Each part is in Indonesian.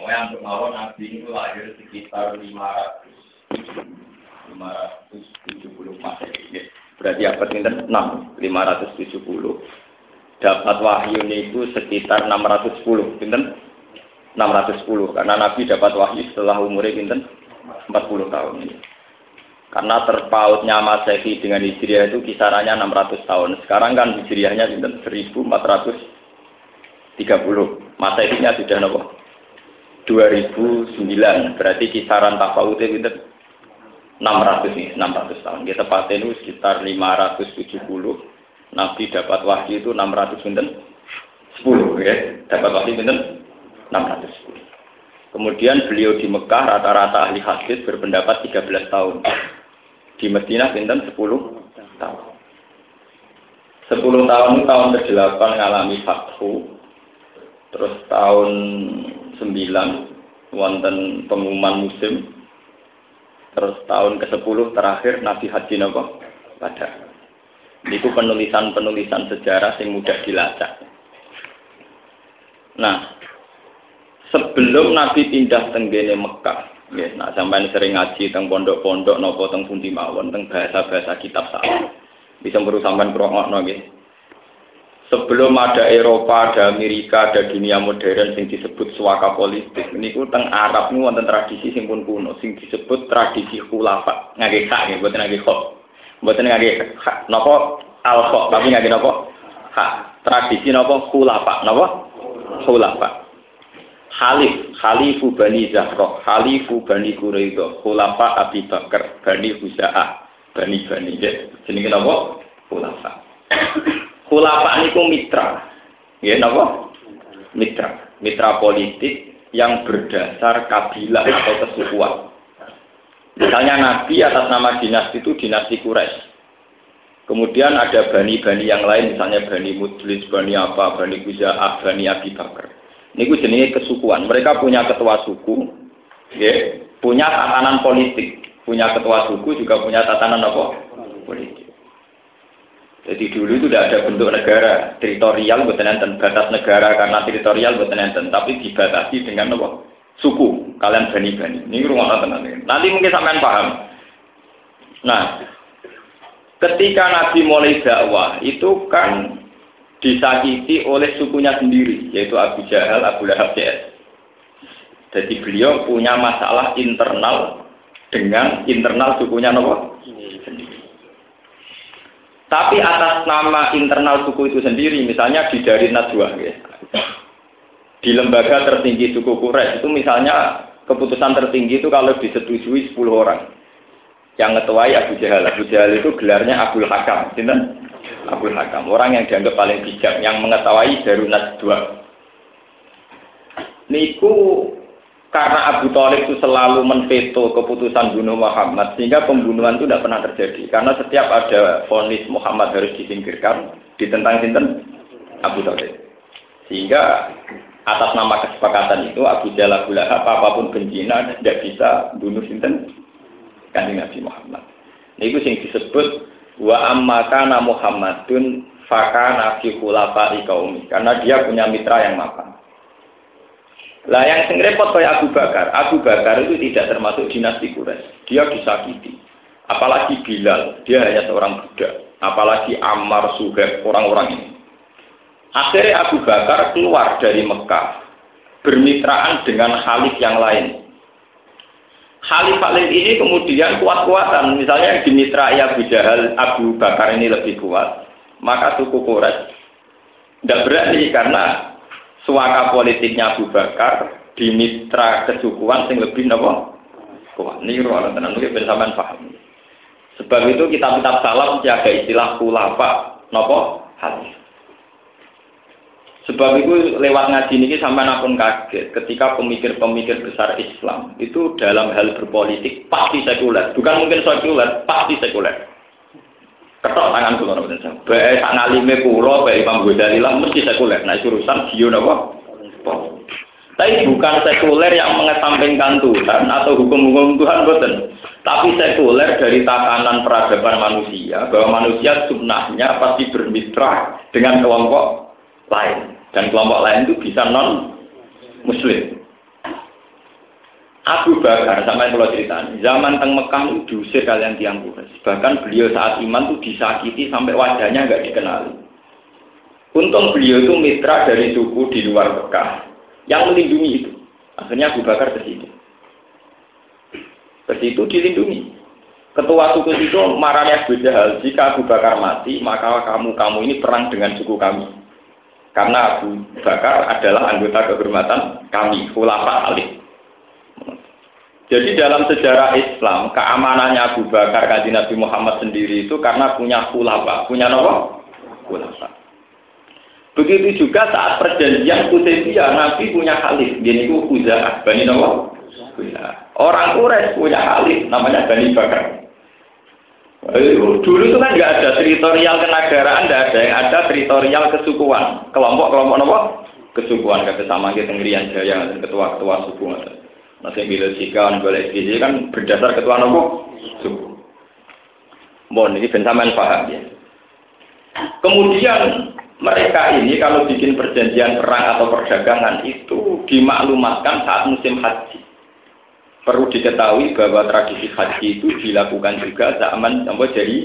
Pokoknya untuk mawon Nabi itu lahir sekitar 570 Masehi. Berarti abad pinten 6, 570. Dapat wahyu itu sekitar 610, pinten 610 karena Nabi dapat wahyu setelah umurnya pinten 40 tahun ini. Karena terpautnya Masehi dengan Hijriah itu kisarannya 600 tahun. Sekarang kan Hijriahnya pinten 1430. Masehinya sudah nopo 2009. Berarti kisaran tafawutnya pinten 600 nih, 600 tahun. Kita tepatnya itu sekitar 570. Nabi dapat wahyu itu 600 pinten 10 ya. Dapat wahyu pinten 610. Kemudian beliau di Mekah rata-rata ahli hadis berpendapat 13 tahun. Di Madinah pinten 10 tahun. 10 tahun itu tahun ke-8 ngalami fathu. Terus tahun 9 wonten pengumuman musim. Terus tahun ke-10 terakhir Nabi Haji napa? Pada. Itu penulisan-penulisan sejarah yang mudah dilacak. Nah, sebelum Nabi pindah tenggene Mekah, ya, nah sampai sering ngaji teng pondok-pondok napa teng pundi mawon teng bahasa-bahasa kitab salaf. Bisa perlu sampean krungokno nggih. Sebelum ada Eropa, ada Amerika, ada dunia modern yang disebut suaka politik. Niku teng Arab niku wonten tradisi sing pun kuno sing disebut tradisi khulafa. Ngangge hak nggih, mboten ngangge khok. Mboten ngangge hak napa al-khok, tapi ngangge napa? Hak. Tradisi napa khulafa, napa? Khulafa. Khalifu Bani Zahra, Khalifu Bani Quraidah, Khulafa Abi Bakar, Bani Huza'ah, Bani jenenge napa? Khulafa. Khulafa niku mitra. Nggih napa? Mitra politik yang berdasar kabilah atau kesukuan. Misalnya Nabi atas nama dinasti itu dinasti Quraisy. Kemudian ada bani-bani yang lain, misalnya Bani Mudlis, Bani apa, Bani Huza'ah, Bani Abi Bakar. Niku jenenge kesukuan. Mereka punya ketua suku, ya, punya tatanan politik. Punya ketua suku juga punya tatanan apa? Politik. Jadi dulu itu tidak ada bentuk negara, teritorial bukan enten, batas negara karena teritorial bukan enten, tapi dibatasi dengan apa? Suku. Kalian bani-bani. Ini rumah tenan. Nanti mungkin sampean paham. Nah, ketika Nabi mulai dakwah itu kan disakiti oleh sukunya sendiri, yaitu Abu Jahal, Abu Lahab, CS. Jadi beliau punya masalah internal dengan internal sukunya Nabi sendiri. Tapi atas nama internal suku itu sendiri, misalnya di Darin Nadwa, ya. Di lembaga tertinggi suku Quraisy itu misalnya keputusan tertinggi itu kalau disetujui 10 orang. Yang ngetuai Abu Jahal. Abu Jahal itu gelarnya Abul Hakam, Abul Hakam, orang yang dianggap paling bijak, yang mengetahui Darunat 2. Niku karena Abu Thalib itu selalu menveto keputusan bunuh Muhammad, sehingga pembunuhan itu tidak pernah terjadi. Karena setiap ada vonis Muhammad harus disingkirkan, ditentang Abu Thalib. Sehingga atas nama kesepakatan itu Abu Jahal, Abu Lahab, apapun bencina tidak bisa bunuh Kanjeng Nabi Muhammad. Niku sing disebut wa amma kana Muhammadun fakana fi khulafa'i qaumi, karena dia punya mitra yang mapan. Lah yang sing repot kaya Abu Bakar. Abu Bakar itu tidak termasuk dinasti Quraisy. Dia disakiti. Apalagi Bilal, dia hanya seorang budak. Apalagi Ammar, Suhaib, orang-orang ini. Akhirnya Abu Bakar keluar dari Mekah, bermitraan dengan khalif yang lain. Khalif-khalif ini kemudian kuat-kuatan. Misalnya yang dimitrai Abu Jahal, Abu Bakar ini lebih kuat. Maka suku Quraisy tidak berani karena suaka politiknya Abu Bakar di mitra kesukuan yang lebih napa? Kuat. Ini ruang tenan mungkin bersamaan paham. Sebab itu kitab-kitab salaf jaga istilah khulafa napa? Hadis. Sebab itu lewat ngaji ini sampai pun kaget ketika pemikir-pemikir besar Islam itu dalam hal berpolitik pasti sekuler, bukan mungkin sekuler, pasti sekuler. Ketok tangan kula napa ten. Bae sak ngalime kula, bae Imam Ghazali lah mesti sekuler. Nah, urusan dia napa? Tapi bukan sekuler yang mengesampingkan Tuhan atau hukum-hukum Tuhan boten. Tapi sekuler dari tatanan peradaban manusia, bahwa manusia sunnahnya pasti bermitra dengan kelompok lain. Dan kelompok lain itu bisa non-muslim. Abu Bakar sama yang kalau cerita, zaman teng Mekah itu diusir kalian tiang Quraisy. Bahkan beliau saat iman itu disakiti sampai wajahnya nggak dikenali. Untung beliau itu mitra dari suku di luar Mekah yang melindungi itu. Akhirnya Abu Bakar ke situ. Ke situ dilindungi. Ketua suku itu marahnya Abu Jahal, jika Abu Bakar mati, maka kamu ini perang dengan suku kami. Karena Abu Bakar adalah anggota kehormatan kami, khulafa alih. Jadi dalam sejarah Islam, keamanannya Abu Bakar kanjeng Nabi Muhammad sendiri itu karena punya khulafa. Punya apa? Khulafa. Begitu juga saat perjanjian Hudaybiyah, Nabi punya khalif. Ini itu Khuza'ah, Bani apa? Orang Quraisy punya khalif, namanya Bani Bakar. Dulu itu kan nggak ada teritorial kenegaraan, nggak ada yang ada teritorial kesukuan. Kelompok-kelompok apa? Kesukuan, kata sama kita Ngerian Jaya, ketua-ketua suku. Masih bila sikan, boleh gizi kan berdasar ketua nopo suku. Mohon ini bensaman paham ya. Kemudian mereka ini kalau bikin perjanjian perang atau perdagangan itu dimaklumatkan saat musim haji. Perlu diketahui bahwa tradisi haji itu dilakukan juga zaman sampai jadi.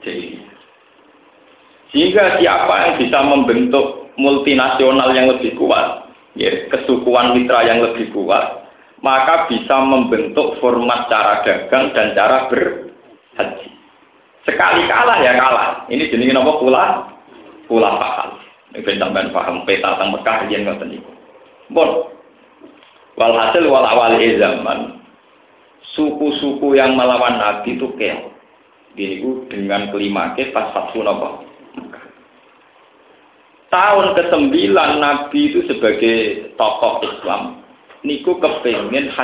Sehingga siapa yang bisa membentuk multinasional yang lebih kuat, ya, kesukuan mitra yang lebih kuat, maka bisa membentuk format cara dagang dan cara berhaji. Sekali kalah ya kalah. Ini jenis apa kula paham. Ini sampean paham peta tentang Mekah yen ngoten niku. Bon. Walhasil wal awal zaman suku-suku yang melawan Nabi itu keok. Niku dengan kelimake pas Fathu napa? Tahun ke-9 Nabi itu sebagai tokoh Islam niku kepengen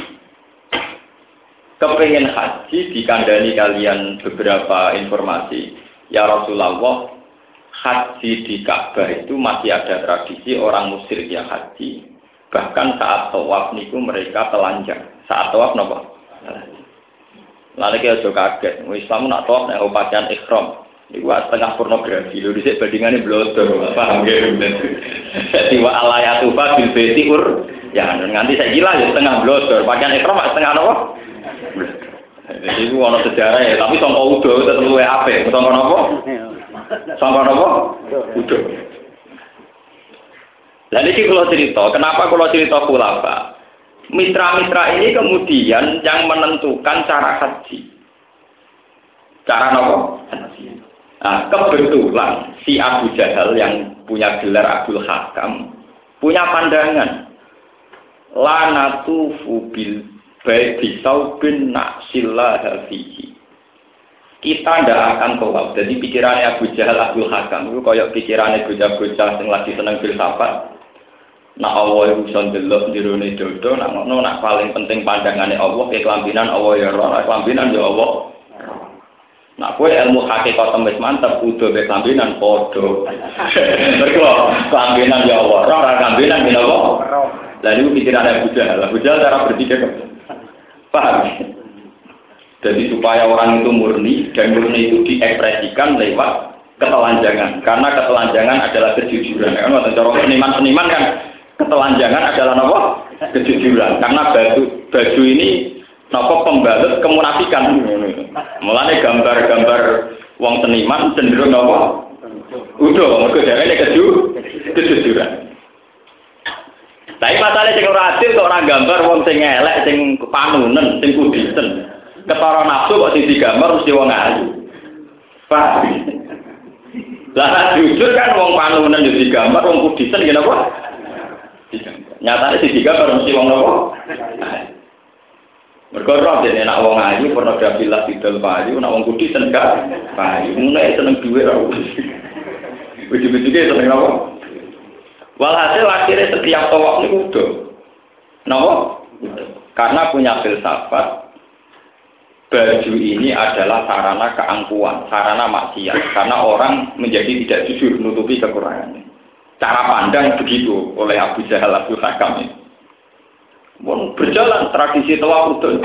haji dikandani kalian beberapa informasi. Ya Rasulullah, haji di Ka'bah itu masih ada tradisi orang musyrik yang haji. Bahkan saat tawaf niku mereka telanjang. Saat tawaf napa? Lalu kita juga kaget. Islam nak tawaf nek pakaian ihram. Iku setengah pornografi. Lho dhisik bandingane blodor. Paham nggih? Dadi wa alayatu fa bil baiti ya, nganti saya gila ya setengah blodor, pakaian ihram setengah apa? Jadi itu ada sejarah ya, tapi sangka udo tetap luwe apik. Sangka apa? Sangka apa? Udo. Lah iki kalau cerita, kenapa kalau cerita khulafa? Mitra-mitra ini kemudian yang menentukan cara haji. Cara apa? Nah, kebetulan si Abu Jahal yang punya gelar Abdul Hakam punya pandangan. Lanatu fubil baiti saubin naksillah fihi. Kita ndak akan tawaf. Jadi pikirannya Abu Jahal Abdul Hakam itu kayak pikirannya bocah-bocah yang lagi seneng filsafat. Nak Allah iku iso ndelok jerone dodo, nak ngono nak paling penting pandangannya Allah ke kelambinan Allah ya ora, kelambinan ya Allah. Nak kowe ilmu hakikat wis mantep kudu be kelambinan padha. Mergo kelambinan ya Allah, ora kelambinan ya Allah. Lalu pikiran Abu Jahal cara berpikir paham? Jadi supaya orang itu murni dan murni itu diekspresikan lewat ketelanjangan. Karena ketelanjangan adalah kejujuran. Kan cara seniman kan ketelanjangan adalah apa? Kejujuran. Karena baju ini apa pembalut kemunafikan. Mulane gambar-gambar wong seniman cenderung apa? Udah, mergo dheweke kejujuran. Tapi masalah sing ora adil kok ora gambar wong sing elek, sing panunen, sing kudisen. Ketara nafsu kok sing digambar mesti wong ayu. Pak. Lah jujur kan wong panunen yo digambar, wong kudisen ngene apa? Digambar. Nyatane sing digambar mesti wong apa? Mergo roh dene nek wong ayu pornografi lah didol payu, nek wong kudisen gak payu. Mulai seneng duwe ora. Wiji-wiji seneng apa? Walhasil akhirnya setiap tawaf ini udah, kenapa? Karena punya filsafat, baju ini adalah sarana keangkuhan, sarana maksiat. Karena orang menjadi tidak jujur, menutupi kekurangannya. Cara pandang begitu oleh Abu Jahal Abdul Hakam ini. Berjalan tradisi tawaf udah.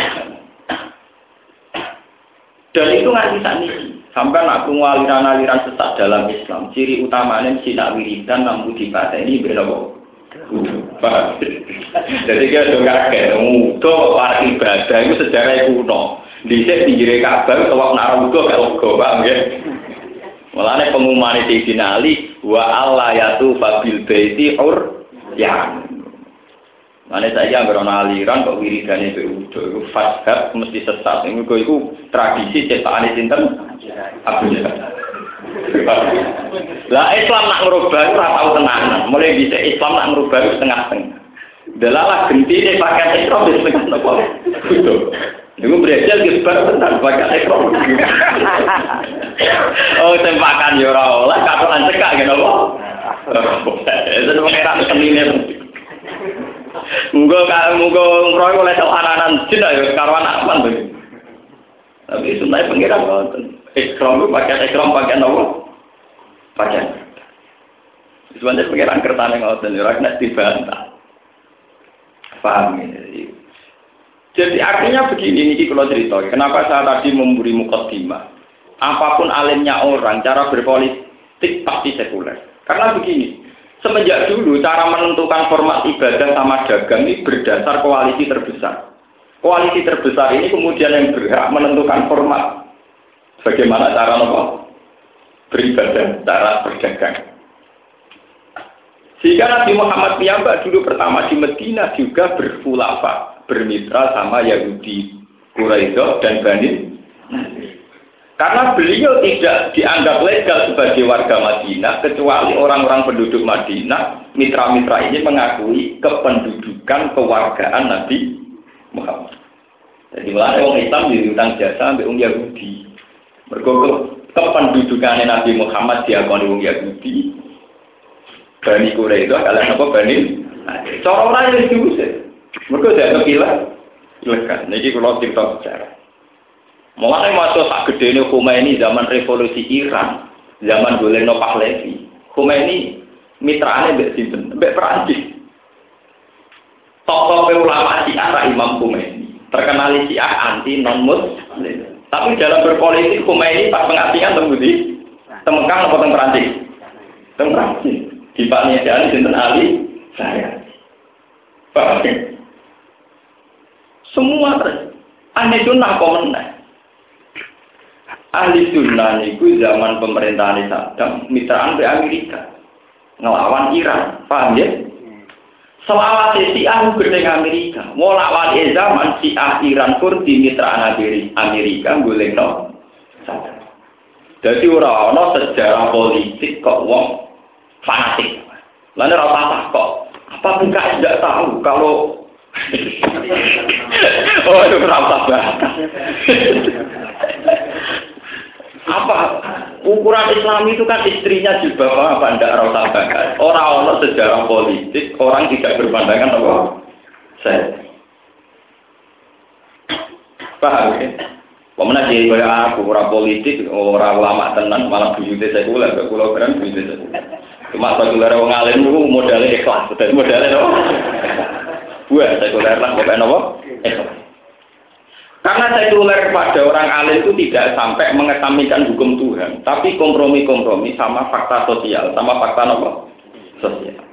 Dan itu nggak bisa nih. Sampai nak tunggu aliran-aliran sesat dalam Islam, ciri utamanya sinak wiridan namun dibaca ini berapa? Paham? Jadi kita juga kaget, mudo para ibadah itu sejarah kuno. Dhisik pinggire Ka'bah utawa nara mudo gak logo, paham ya? Mulane pengumuman di finali wa alla yatu fabil baiti ya. Mane saya anggere ana aliran kok wiridane udo iku fashab mesti sesat. Iku tradisi ciptaane sinten? Abu Jahal. Lah Islam nak ngerubah ora tau tenanan. Mulai bisa Islam nak ngerubah setengah-setengah. Delalah gentine pakai Islam di setengah nopo. Betul. Iku berjal gesbar tentang pakai Islam. Oh, tempakan yo ora oleh katokan cekak ngene apa? Itu pengeran senine. Muga ngroy oleh sawaranan jin ayo karo anak apa to. Tapi sunai pengeran ngoten. Ikram pakai ikram pakai nopo? Pakai. Sebenarnya pengeran kertane ngoten ora kena dibantah. Paham ini. Jadi artinya begini, ini kalau cerita. Kenapa saya tadi memberi mukaddimah? Apapun alimnya orang, cara berpolitik pasti sekuler. Karena begini, semenjak dulu cara menentukan format ibadah sama dagang ini berdasar koalisi terbesar. Koalisi terbesar ini kemudian yang berhak menentukan format. Bagaimana cara beribadah, cara berdagang. Sehingga Nabi Muhammad piyambak dulu pertama di Madinah juga berkhulafah, bermitra sama Yahudi, Quraisy dan Bani. Karena beliau tidak dianggap legal sebagai warga Madinah kecuali orang-orang penduduk Madinah, mitra-mitra ini mengakui kependudukan kewargaan Nabi Muhammad. Jadi mulai orang Islam diutang jasa sampai orang Yahudi. Mergo kependudukan Nabi Muhammad diakoni orang Yahudi. Bani Quraisy itu kalian apa Bani? Cara orang yang diusir. Mereka tidak ilegal. Niki kalau cerita sejarah. Mulai masuk sak gede ini Khomeini zaman revolusi Iran, zaman Goleno Pahlavi. Khomeini mitraane mbek sinten? Mbek Perancis. Tokoh ulama Syiah Imam Khomeini. Terkenal Syiah anti non-Muslim. Tapi dalam berpolitik Khomeini pas pengasingan tembudi. Temekang apa teng Perancis? Teng Perancis. Di Pak Niadan sinten Ali saya. Paham? Semua ahli sunnah komen. Ahli sunnah niku zaman pemerintahan Saddam mitraan ke Amerika ngelawan Iran. Paham ya? Selawat Syiah gede Amerika. Mau lawan zaman Syiah Iran pun di mitraan Amerika golekno Saddam. Jadi ora-ora sejarah politik kok wong fanatik. Lalu rata kok. Apa PKS tidak tahu kalau oh itu rata banget. Apa ukuran Islam itu kan istrinya juga apa tidak rata banget. Orang-orang sejarah politik orang tidak berpandangan apa. Saya paham ya. Pemenang jadi kayak aku orang politik orang lama tenan malah bujute sekuler ke pulau keren bujute sekuler. Cuma sekuler orang alim itu modalnya ikhlas, modalnya apa? Buat sekuler lah, bukan apa? Ikhlas. Karena sekuler pada orang alim itu tidak sampai mengesampingkan hukum Tuhan, tapi kompromi-kompromi sama fakta sosial, sama fakta apa? Sosial.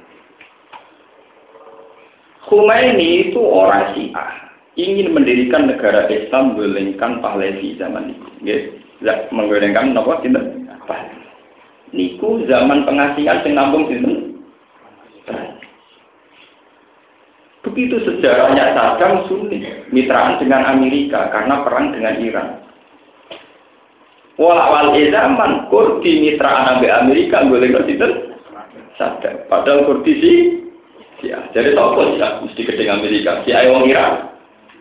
Khomeini itu orang Syiah, ingin mendirikan negara Islam menggolengkan Pahlavi zaman itu, ya, menggolengkan apa? Tidak. Niku zaman pengasingan sing nampung sinten. Begitu sejarahnya Saddam Sunni, mitraan dengan Amerika karena perang dengan Iran. Walawal zaman Kurdi mitraan dengan Amerika golek sinten? Saddam. Padahal Kurdi sih, ya. Jadi toko sih mesti gede Amerika. Si ayo Iran.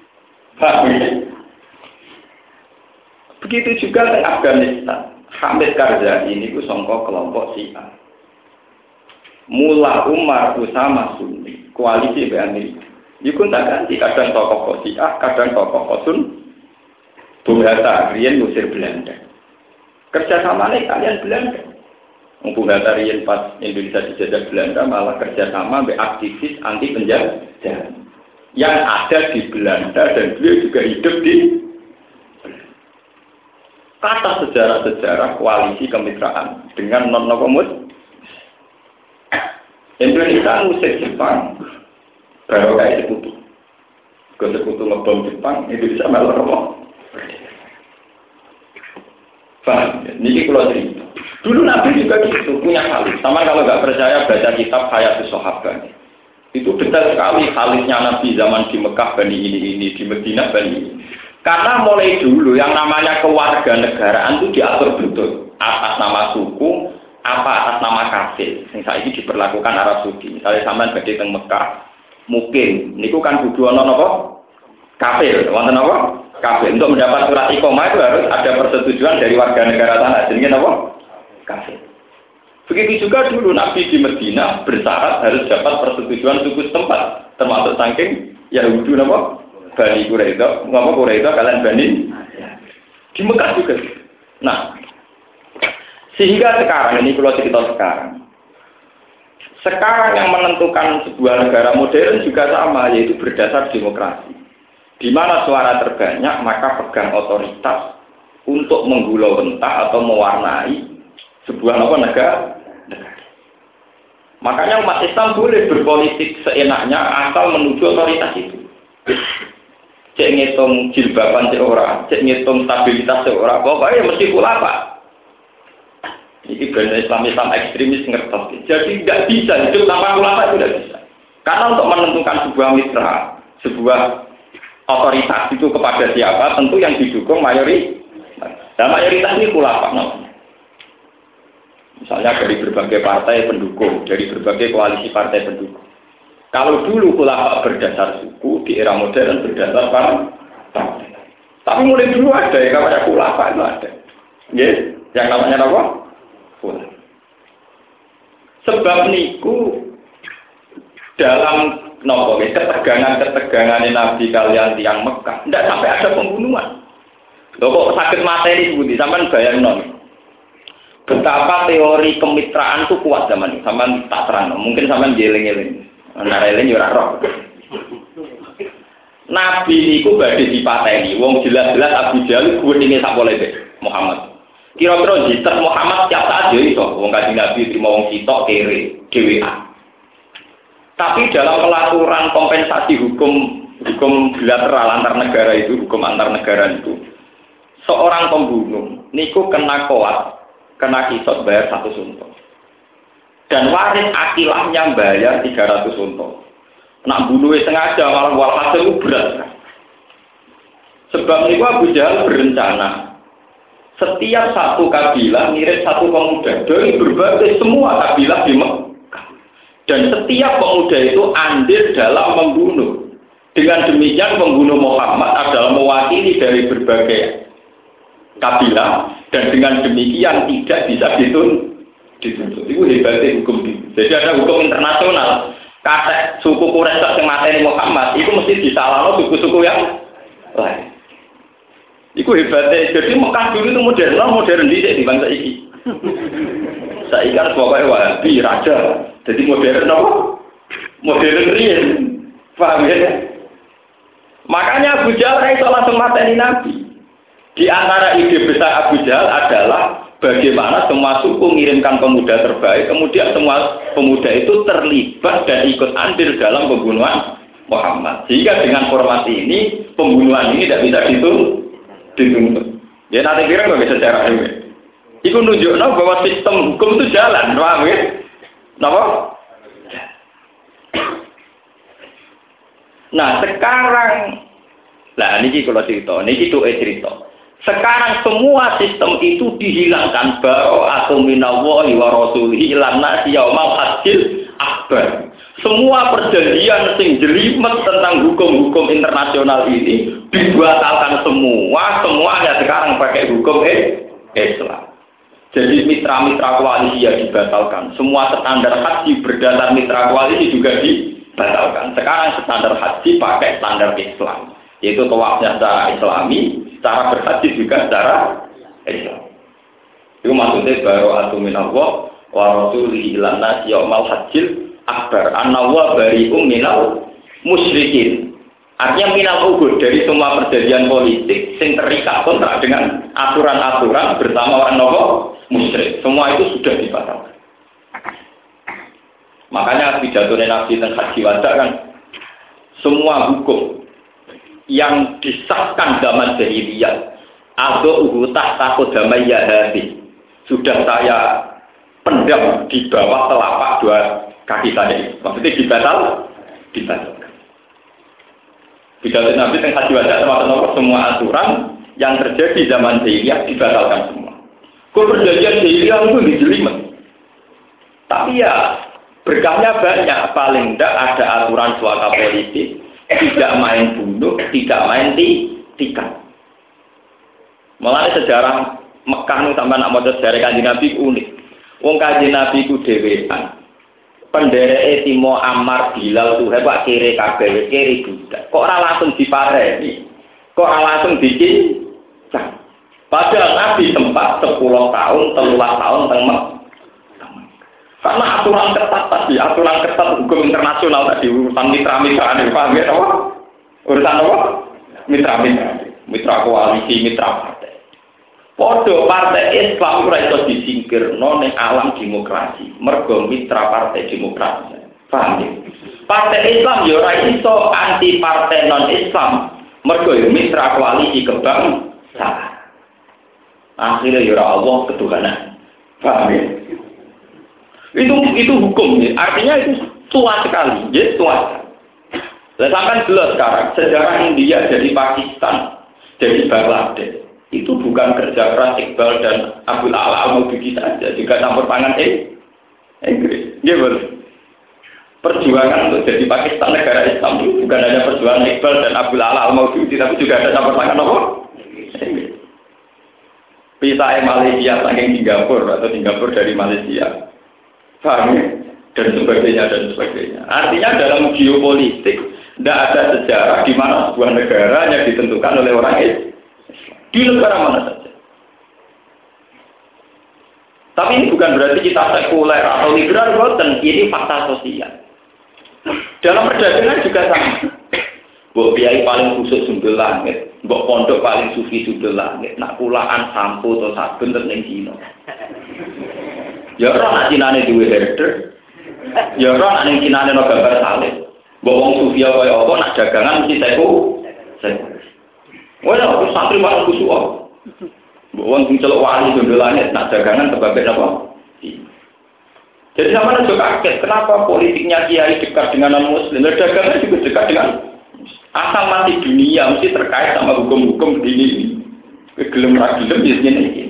Begitu juga di Afghanistan. Hamid Karzai ini ku sangka kelompok Syiah. Mullah Umar Usama Sunni, koalisi dengan Amerika. Iku tak ganti kadang tokoh Syiah, kadang tokoh Sun. Bung Hatta riyen ngusir Belanda. Kerjasamanya kalian Belanda. Bung Hatta riyen pas Indonesia dijajah Belanda malah kerjasama dengan aktivis anti penjajah yang ada di Belanda dan beliau juga hidup di kata sejarah-sejarah koalisi kemitraan dengan non-komus. Indonesia ngusir Jepang, baru kayak sekutu. Ke sekutu ngebom Jepang, Indonesia malah apa? Paham? Ini kalau cerita. Dulu Nabi juga gitu, punya khalif. Sama kalau nggak percaya baca kitab Hayatus Sahabat. Itu detail sekali khalifnya Nabi zaman di Mekah Bani ini, di Madinah Bani ini. Karena mulai dulu yang namanya kewarganegaraan itu diatur betul atas nama suku, apa atas nama kafir. Misalnya ini diperlakukan Arab Saudi. Misalnya sampean badhe teng Mekah, mungkin niku kan kudu ana napa? Kafir, wonten napa? Kafir. Untuk mendapat surat iqamah itu harus ada persetujuan dari warga negara sana. Jenenge napa? Kafir. Begitu juga dulu Nabi di Madinah bersyarat harus dapat persetujuan suku setempat, termasuk saking Yahudi napa? Bani Quraisy. Ngapa Quraisy kalian Bani? Di Mekah juga. Nah, sehingga sekarang ini kalau cerita sekarang yang menentukan sebuah negara modern juga sama, yaitu berdasar demokrasi. Di mana suara terbanyak maka pegang otoritas untuk menggulau rentah atau mewarnai sebuah negara. Makanya umat Islam boleh berpolitik seenaknya asal menuju otoritas itu. Cek ngitung jilbaban seorang, cek ngitung stabilitas seorang, pokoknya mesti pula Pak. Ini benar Islam ekstremis ngertos. Jadi tidak bisa hidup tanpa ulama itu tidak bisa. Karena untuk menentukan sebuah mitra, sebuah otoritas itu kepada siapa, tentu yang didukung mayoritas. Dan mayoritas ini ulama namanya. Misalnya dari berbagai partai pendukung, dari berbagai koalisi partai pendukung. Kalau dulu ulama berdasar suku, di era modern berdasar partai. Tapi mulai dulu ada yang namanya ulama itu ada. Yes, yang namanya apa? Ulama. Sebab niku dalam ketegangan Nabi kalian tiang Mekah, tidak sampai ada pembunuhan. Loh kok sakit mata ini budi, sampai bayang non. Betapa teori kemitraan itu kuat zaman ini, sampai tak terang. Mungkin sampai jeling-jeling. Narelin ora roh. Nabi niku badhe dipateni. Wong jelas-jelas Abu Jahal gudine sak pole Muhammad. Kira-kira jitet Muhammad tiap saat yo iso. Wong Kanjeng Nabi trimo wong sitok kere dhewean. Tapi dalam pelaturan kompensasi hukum bilateral antar negara itu, hukum antar negara itu, seorang pembunuh niku kena koat, kena kisot bayar 1 unta. Dan waris akilahnya bayar 300 unta. Nak bunuhnya sengaja malah walhasil itu berat. Sebab itu Abu Jahal berencana setiap satu kabilah ngirim satu pemuda dari berbagai semua kabilah di Mekah. Dan setiap pemuda itu andil dalam membunuh. Dengan demikian pembunuh Muhammad adalah mewakili dari berbagai kabilah dan dengan demikian tidak bisa dituntut. Itu hebatnya hukum itu. Jadi ada hukum internasional. Kata suku Quraisy yang mateni Muhammad, itu mesti disalahkan suku-suku yang lain. Itu hebatnya. Jadi Mekah dulu itu modern di bangsa ini. Saya kan pokoknya Wahabi raja. Jadi modern apa? Modern real. Paham ya? Makanya Abu Jahal itu langsung mateni Nabi. Di antara ide besar Abu Jahal adalah bagaimana semua suku mengirimkan pemuda terbaik, kemudian semua pemuda itu terlibat dan ikut andil dalam pembunuhan Muhammad. Sehingga dengan formasi ini, pembunuhan ini tidak bisa dituntut. Ya nanti kira nggak bisa secara ini. Itu nunjuknya bahwa sistem hukum itu jalan, paham ya? Kenapa? Nah sekarang, nah ini kalau cerita, ini cerita. Sekarang semua sistem itu dihilangkan atau minallahi wa rasulihi ilan nasi yaumal hajjil akbar. Semua perjanjian sing jelimet tentang hukum-hukum internasional ini dibatalkan semuanya sekarang pakai hukum Islam. Jadi mitra-mitra koalisi ya dibatalkan. Semua standar haji berdasar mitra koalisi juga dibatalkan. Sekarang standar haji pakai standar Islam, yaitu tawafnya secara Islami. Cara berhaji juga secara Islam. Itu maksudnya baru minallah wa rasulihi ilan nasi yaumal hajjil akbar. Annawa bari'um minal musyrikin. Artinya minal ugur dari semua perjanjian politik yang terikat kontrak dengan aturan-aturan bersama orang musyrik. Semua itu sudah dibatalkan. Makanya pidato Nabi tentang haji wada kan, semua hukum yang disahkan zaman jahiliyah atau tahta qadamaya hadi sudah saya pendam di bawah telapak dua kaki saya ini. Maksudnya dibatalkan. Pidato Nabi tentang haji wada termasuk semua aturan yang terjadi zaman jahiliyah dibatalkan semua. Kok perjanjian jahiliyah itu dijelimet. Tapi ya berkahnya banyak. Paling tidak ada aturan suaka politik, tidak main bunuh, tidak main tikar. Malah sejarah Mekah itu sampai nak maca sejarah Kanjeng Nabi unik. Wong Kanjeng Nabi ku dhewean. Pendereke Timo Ammar Bilal tuh hebat kere kabeh kere budak. Kok ora langsung dipareni? Kok ora langsung dicincang? Padahal Nabi sempat 10 tahun, 13 tahun teng karena aturan ketat tadi, aturan ketat hukum internasional tadi, urusan mitra-mitra ini, paham ya? Urusan apa? Mitra koalisi, mitra partai. Podo partai Islam ora iso disingkirno ning alam demokrasi, mergo mitra partai demokrasi. Paham ya? Partai Islam ya ora iso anti partai non-Islam, mergo ya mitra koalisi kebangsaan. Akhirnya ya Allah ketuhanan. Paham ya? Itu hukum ya. Artinya itu tua sekali, ya tua. Sampai jelas sekarang sejarah India jadi Pakistan, jadi Bangladesh itu bukan kerja keras Iqbal dan Abdul Ala Al-Maududi saja, juga campur tangan Inggris. Ya betul. Perjuangan untuk jadi Pakistan negara Islam itu bukan hanya perjuangan Iqbal dan Abdul Ala Al-Maududi, tapi juga ada campur tangan apa? Inggris. Pisah Malaysia saking Singapura atau Singapura dari Malaysia. Paham ya? Dan sebagainya. Artinya dalam geopolitik tidak ada sejarah di mana sebuah negara yang ditentukan oleh orang Islam. Di negara mana saja. Tapi ini bukan berarti kita sekuler atau liberal, bukan. Ini fakta sosial. Dalam perdagangan juga sama. Mbok kiai paling kusuk sundul langit, mbok pondok paling sufi sundul langit, nak kulaan sampo atau sabun ning Cina. Ya ora nak Cinane duwe herder. Ya ora nak ning Cinane ono gambar salib. Mbok wong sufi kaya apa nak dagangan mesti seku. Wala aku santri malah kusuk. Mbok wong sing celuk wali sondolane nak dagangan sebabnya apa? Jadi sama juga kaget kenapa politiknya kiai dekat dengan non-muslim, dagangan juga dekat dengan asal mati dunia mesti terkait sama hukum-hukum ini. Gelem ra gelem biasanya ini.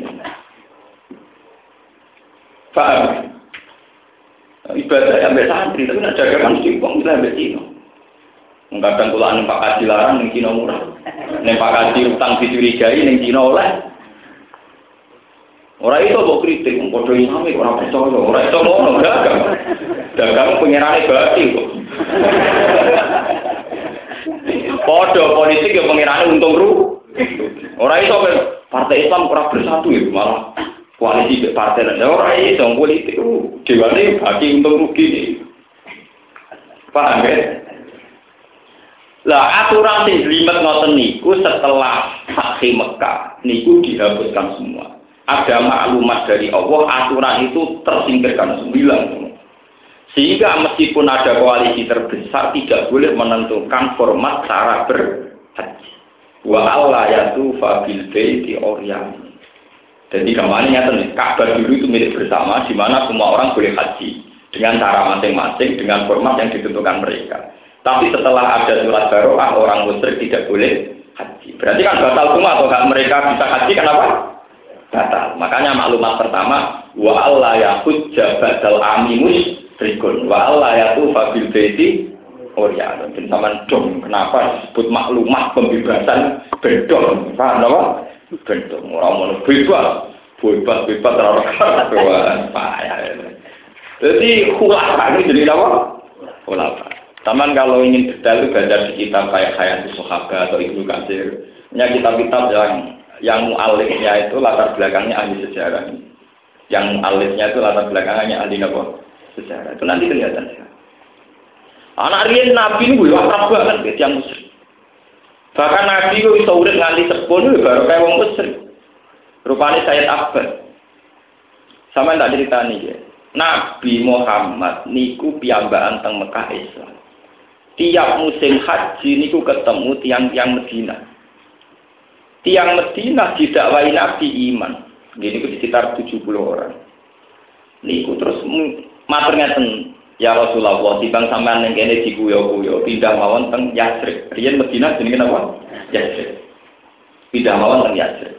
Paham? Ibadah sampai santri, tapi nak dagangan mesti uang bisa sampai Cina. Kadang kulaan Pak Kaji larang, yang Cina murah. Yang Pak Kaji utang dicurigai, yang Cina oleh. Orang itu kok kritik, bodoh Islami, orang percaya. Orang itu mau dagang. Dagang pengirannya berarti kok. Bodoh politik yang pengirannya untung rugi. Orang itu partai Islam kurang bersatu itu malah. Koalisi partai dan orang ini dong politik dewane bagi untung rugi nih. Paham ya? Lah aturan sing limet ngoten niku setelah Fatih Mekah niku dihapuskan semua. Ada maklumat dari Allah, aturan itu tersingkirkan semua. Sehingga meskipun ada koalisi terbesar tidak boleh menentukan format cara berhaji. Wa Allah yatu fabil baiti Oriani. Jadi gambarnya nyata, Ka'bah dulu itu milik bersama, di mana semua orang boleh haji dengan cara masing-masing, dengan format yang ditentukan mereka. Tapi setelah ada surat baroah, orang musyrik tidak boleh haji. Berarti kan batal semua, atau mereka bisa haji, kenapa? Batal. Makanya maklumat pertama, wa Allah yahujja badal aminus rikun, wa Allah yatufa bil baiti Orian. Dan sama dong, kenapa disebut maklumat pembebasan bedong? Paham apa? Bedong, orang mau bebas terlalu payah. Jadi khulafah ini jadi apa? Khulafah. Taman kalau ingin detail itu baca di kitab kayak Hayatus Sahabat atau Ibnu Katsir. Punya kitab-kitab yang mu'alifnya itu latar belakangnya ahli sejarah. Yang mu'alifnya itu latar belakangnya ahli apa? Sejarah. Itu nanti kelihatan. Anak riyen Nabi ini akrab banget yang musyrik. Bahkan Nabi itu bisa urip nganti sepuh itu baru kayak wong musyrik. Rupanya Sayyid Akbar. Sama tak ceritani ya. Nabi Muhammad niku piyambakan teng Mekah Islam. Tiap musim haji niku ketemu tiang-tiang Medina. Tiang Medina didakwahi Nabi iman. Niku sekitar 70 orang. Niku terus matur ngeten, ya Rasulullah, timbang sampean ning kene dikuyo-kuyo, pindah mawon teng Yatsrib. Riyen Medina jenenge napa? Yatsrib. Pindah mawon teng Yatsrib.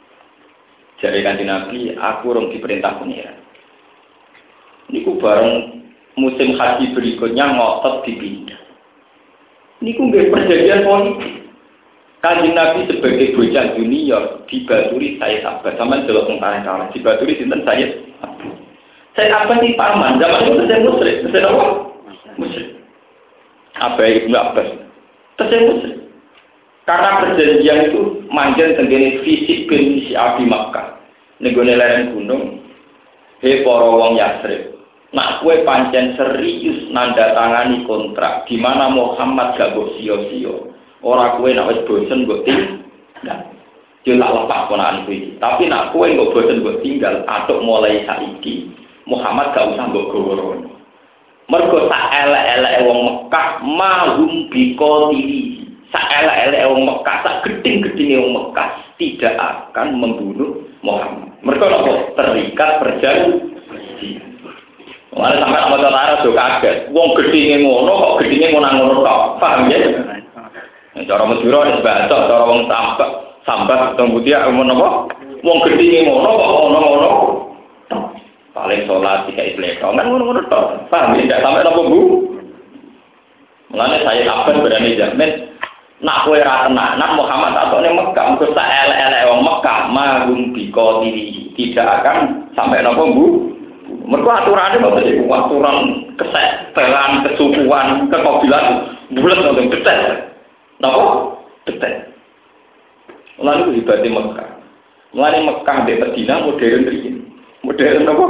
Jare Kanjeng Nabi, aku rong diperintah pengiran. Niku bareng musim haji berikutnya ngotot dipindah. Niku nggih perjanjian politik. Kanjeng Nabi sebagai bocah junior dibaturi saya sahabat, sampean delok tentara dibaturi sinten saya apa sih paman? Zaman itu saya musyrik, saya apa? Musyrik. Apa Ibnu Abbas? Saya musyrik. Karena perjanjian itu manjen tenggene fisik bin si Abi Makkah. Nenggone lereng gunung, he para wong Yatsrib. Nak kowe pancen serius nanda tangani kontrak di mana Muhammad gak mbok sia-sia. Ora kowe nek wis bosen mbok tinggal. Yo tak lepas ponakan kowe. Tapi nak kowe mbok bosen mbok tinggal, atuk mulai saiki Muhammad gak usah mbok goworo. Mergo sak elek-eleke wong Mekah mahum biqatili. Sak elek-eleke wong Mekah, sak geding-gedinge wong Mekah tidak akan membunuh Muhammad. Mergo apa? Terikat perjanjian. Mulane sampe ana cara do kaget. Wong gedinge ngono kok gedinge ngono tok. Paham ya? Cara Madura wis baca, cara wong sambat tembutia ngono apa? Wong gedinge ngono kok ngono-ngono. Paling sholat tiga Islam kan ngono-ngono tok. Paham ya? Tidak sampai nopo Bu. Mulane saya kapan berani jamin nak kowe ra tenanan Muhammad atone Mekah, engko sak elek-elek wong Mekah mahum biqatili tidak akan sampai nopo Bu. Mergo aturane kok dadi aturan kesetelan, kesukuan, kekobilan bulat nang detek. Napa? Detek. Mulane ku ibate Mekah. Mulane Mekah mbek Madinah modern iki. Modern apa?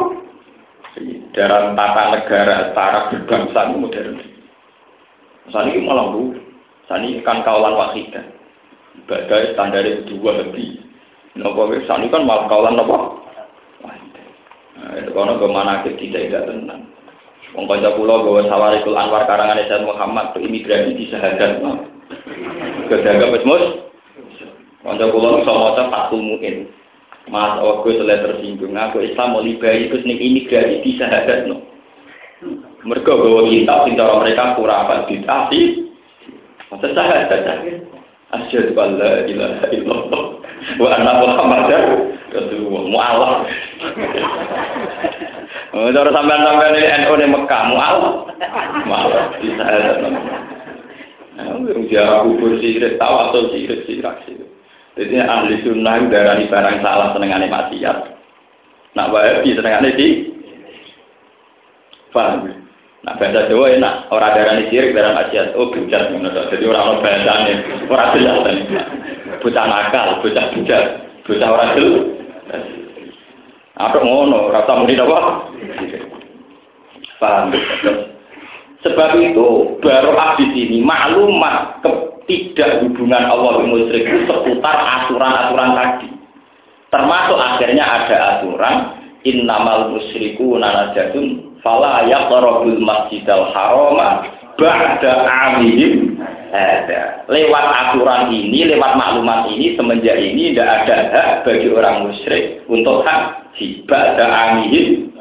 Dalam tata negara taraf berbangsa modern. Saat ini malah bu, saat ini kan kaulan wahidah. Ibadah standar itu dua lebih. Nopo saat ini kan malah kaulan apa? Wahidah. Nah, itu karena kemana tidak tenang. Wong kanca kula gawe Sawarikul Anwar karangan Sayyid Muhammad ke imigrasi di Sahadat. Kedaga wis mus. Kanca kula iso maca Fathul Muin. Mas aku selesai tersinggung, aku Islam mau liberi terus nih imigrasi di Sahadat no. Mereka bawa kitab cara mereka kurang apa ditasi. Masa Sahadat aja. Asyhadu an la ilaha illallah wa anna Muhammadar Rasulullah. Mu'alaf. Cara sampean-sampean ini NU di Mekah mu'alaf. Mu'alaf di Sahadat no. Nah, dia kubur sirik tawasul sirik. Jadi ahli sunnah darani barang salah senengane maksiat. Nak wahabi senengane di paham. Nak bahasa Jawa enak, ora darani syirik darani maksiat. Oh bujat ngono to. Jadi ora ono bahasane, ora jelas ten. Bocah nakal, bocah bujat, bocah ora jelas. Atok ngono, rasa muni apa? Paham. Sebab itu baru di sini maklumat tidak hubungan Allah dengan musyrik itu seputar aturan-aturan tadi. Termasuk akhirnya ada aturan innamal musyrikuna najatun fala yaqrabul masjidal harama ba'da 'amihim ada. Lewat aturan ini, lewat maklumat ini semenjak ini tidak ada hak bagi orang musyrik untuk haji ba'da 'amihim.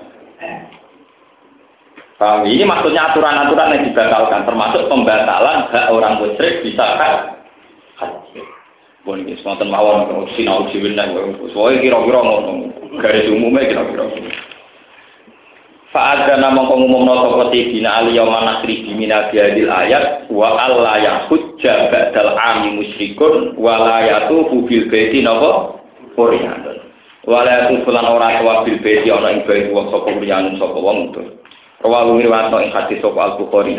Ini maksudnya aturan-aturan yang dibatalkan, termasuk pembatalan hak orang musyrik bisa haji. Bon iki wonten mawon sinau diwen nang soe kira-kira ngono. Garis umumnya kira-kira. Fa'adzana mongko ngumumna sapa tidina aliya manasri bimina biadil ayat wa alla yahujja ba'dal ami musyrikun wa la yatufu bil baiti napa qur'an. Wa la yatufu lan ora bil baiti ana ing baiti wa sapa qur'an sapa wong itu. Rawahu riwayat ing hadis sapa Al-Bukhari.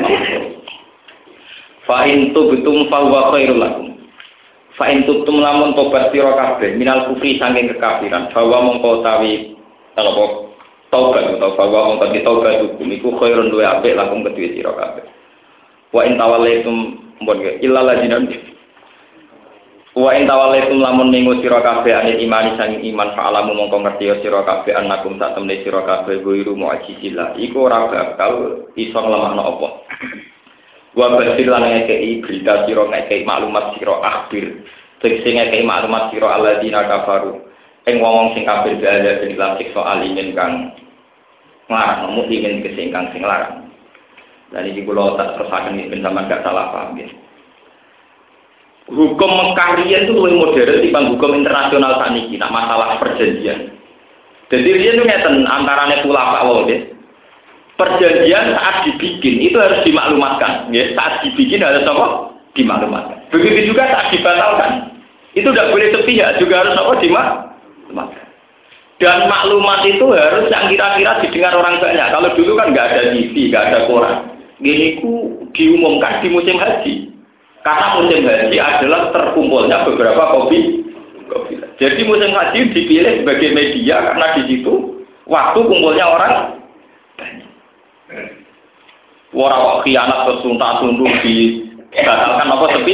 Fa in tubtum fa huwa khairul lakum. Fa in tubtum lamun tobat sira kabeh minal kufri saking kekafiran, bahwa mongko tawi apa taubat utawa bahwa mongko ditaubat hukum iku khairun luwe apik lakum kedue sira kabeh. Wa in tawallaitum mbon illa lajina Wa in tawallaitum lamun minggu sira kabeh anil imani sanging iman fa'alamu mongko ngerti sira kabeh annakum sak temne sira kabeh guiru mu'jizillah iku ora bakal iso nglemahno apa. Wa basil lan ngekeki berita sira ngekeki maklumat sira akhir sing ngekeki maklumat sira alladzina kafaru ing wong sing kafir ada ing lan siksa alimin kang nglarang mukmin kesingkang sing larang. Dan iki kula tak terusaken iki ben sampean gak salah paham ya. Hukum Mekah riyen itu lebih modern dibanding hukum internasional saat ini, nak masalah perjanjian. Jadi riyen itu ngeten antarane ulama wae. Perjanjian saat dibikin itu harus dimaklumatkan, ya. Saat dibikin harus apa? Dimaklumatkan. Begitu juga saat dibatalkan. Itu tidak boleh sepihak, juga harus apa? Dimaklumatkan. Dan maklumat itu harus yang kira-kira didengar orang banyak. Kalau dulu kan nggak ada TV, nggak ada koran. Gini ku diumumkan di musim haji. Karena musim haji adalah terkumpulnya beberapa kopi. Jadi musim haji dipilih sebagai media karena di situ waktu kumpulnya orang banyak. Orang khianat tersuntak-suntuk dibatalkan apa sepi.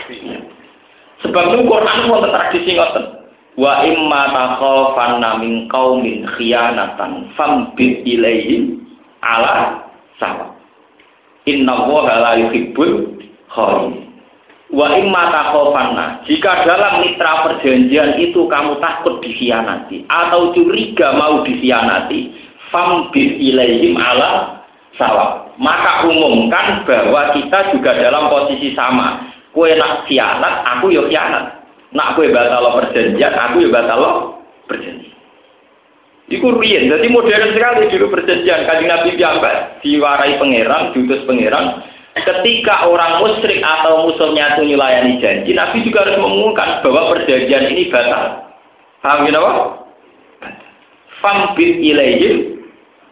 Sebab itu Quran pun tradisi ngoten. Wa imma takhafanna min qaumin khianatan fambit ilaihim ala sawa. Innallaha la yuhibbul kha'inin. Wa imma takhafanna, jika dalam mitra perjanjian itu kamu takut dikhianati atau curiga mau dikhianati, fambit ilaihim ala sawa. Maka umumkan bahwa kita juga dalam posisi sama. Kowe nak khianat, aku yo khianat. Nak kowe batal perjanjian, aku yo batal perjanjian. Iku riyen, jadi modern sekali dulu perjanjian. Kanjeng Nabi piyambak diwarai pangeran, diutus pangeran. Ketika orang musyrik atau musuhnya itu melayani janji, Nabi juga harus mengumumkan bahwa perjanjian ini batal. Paham ya, apa? Fambit ilaihim.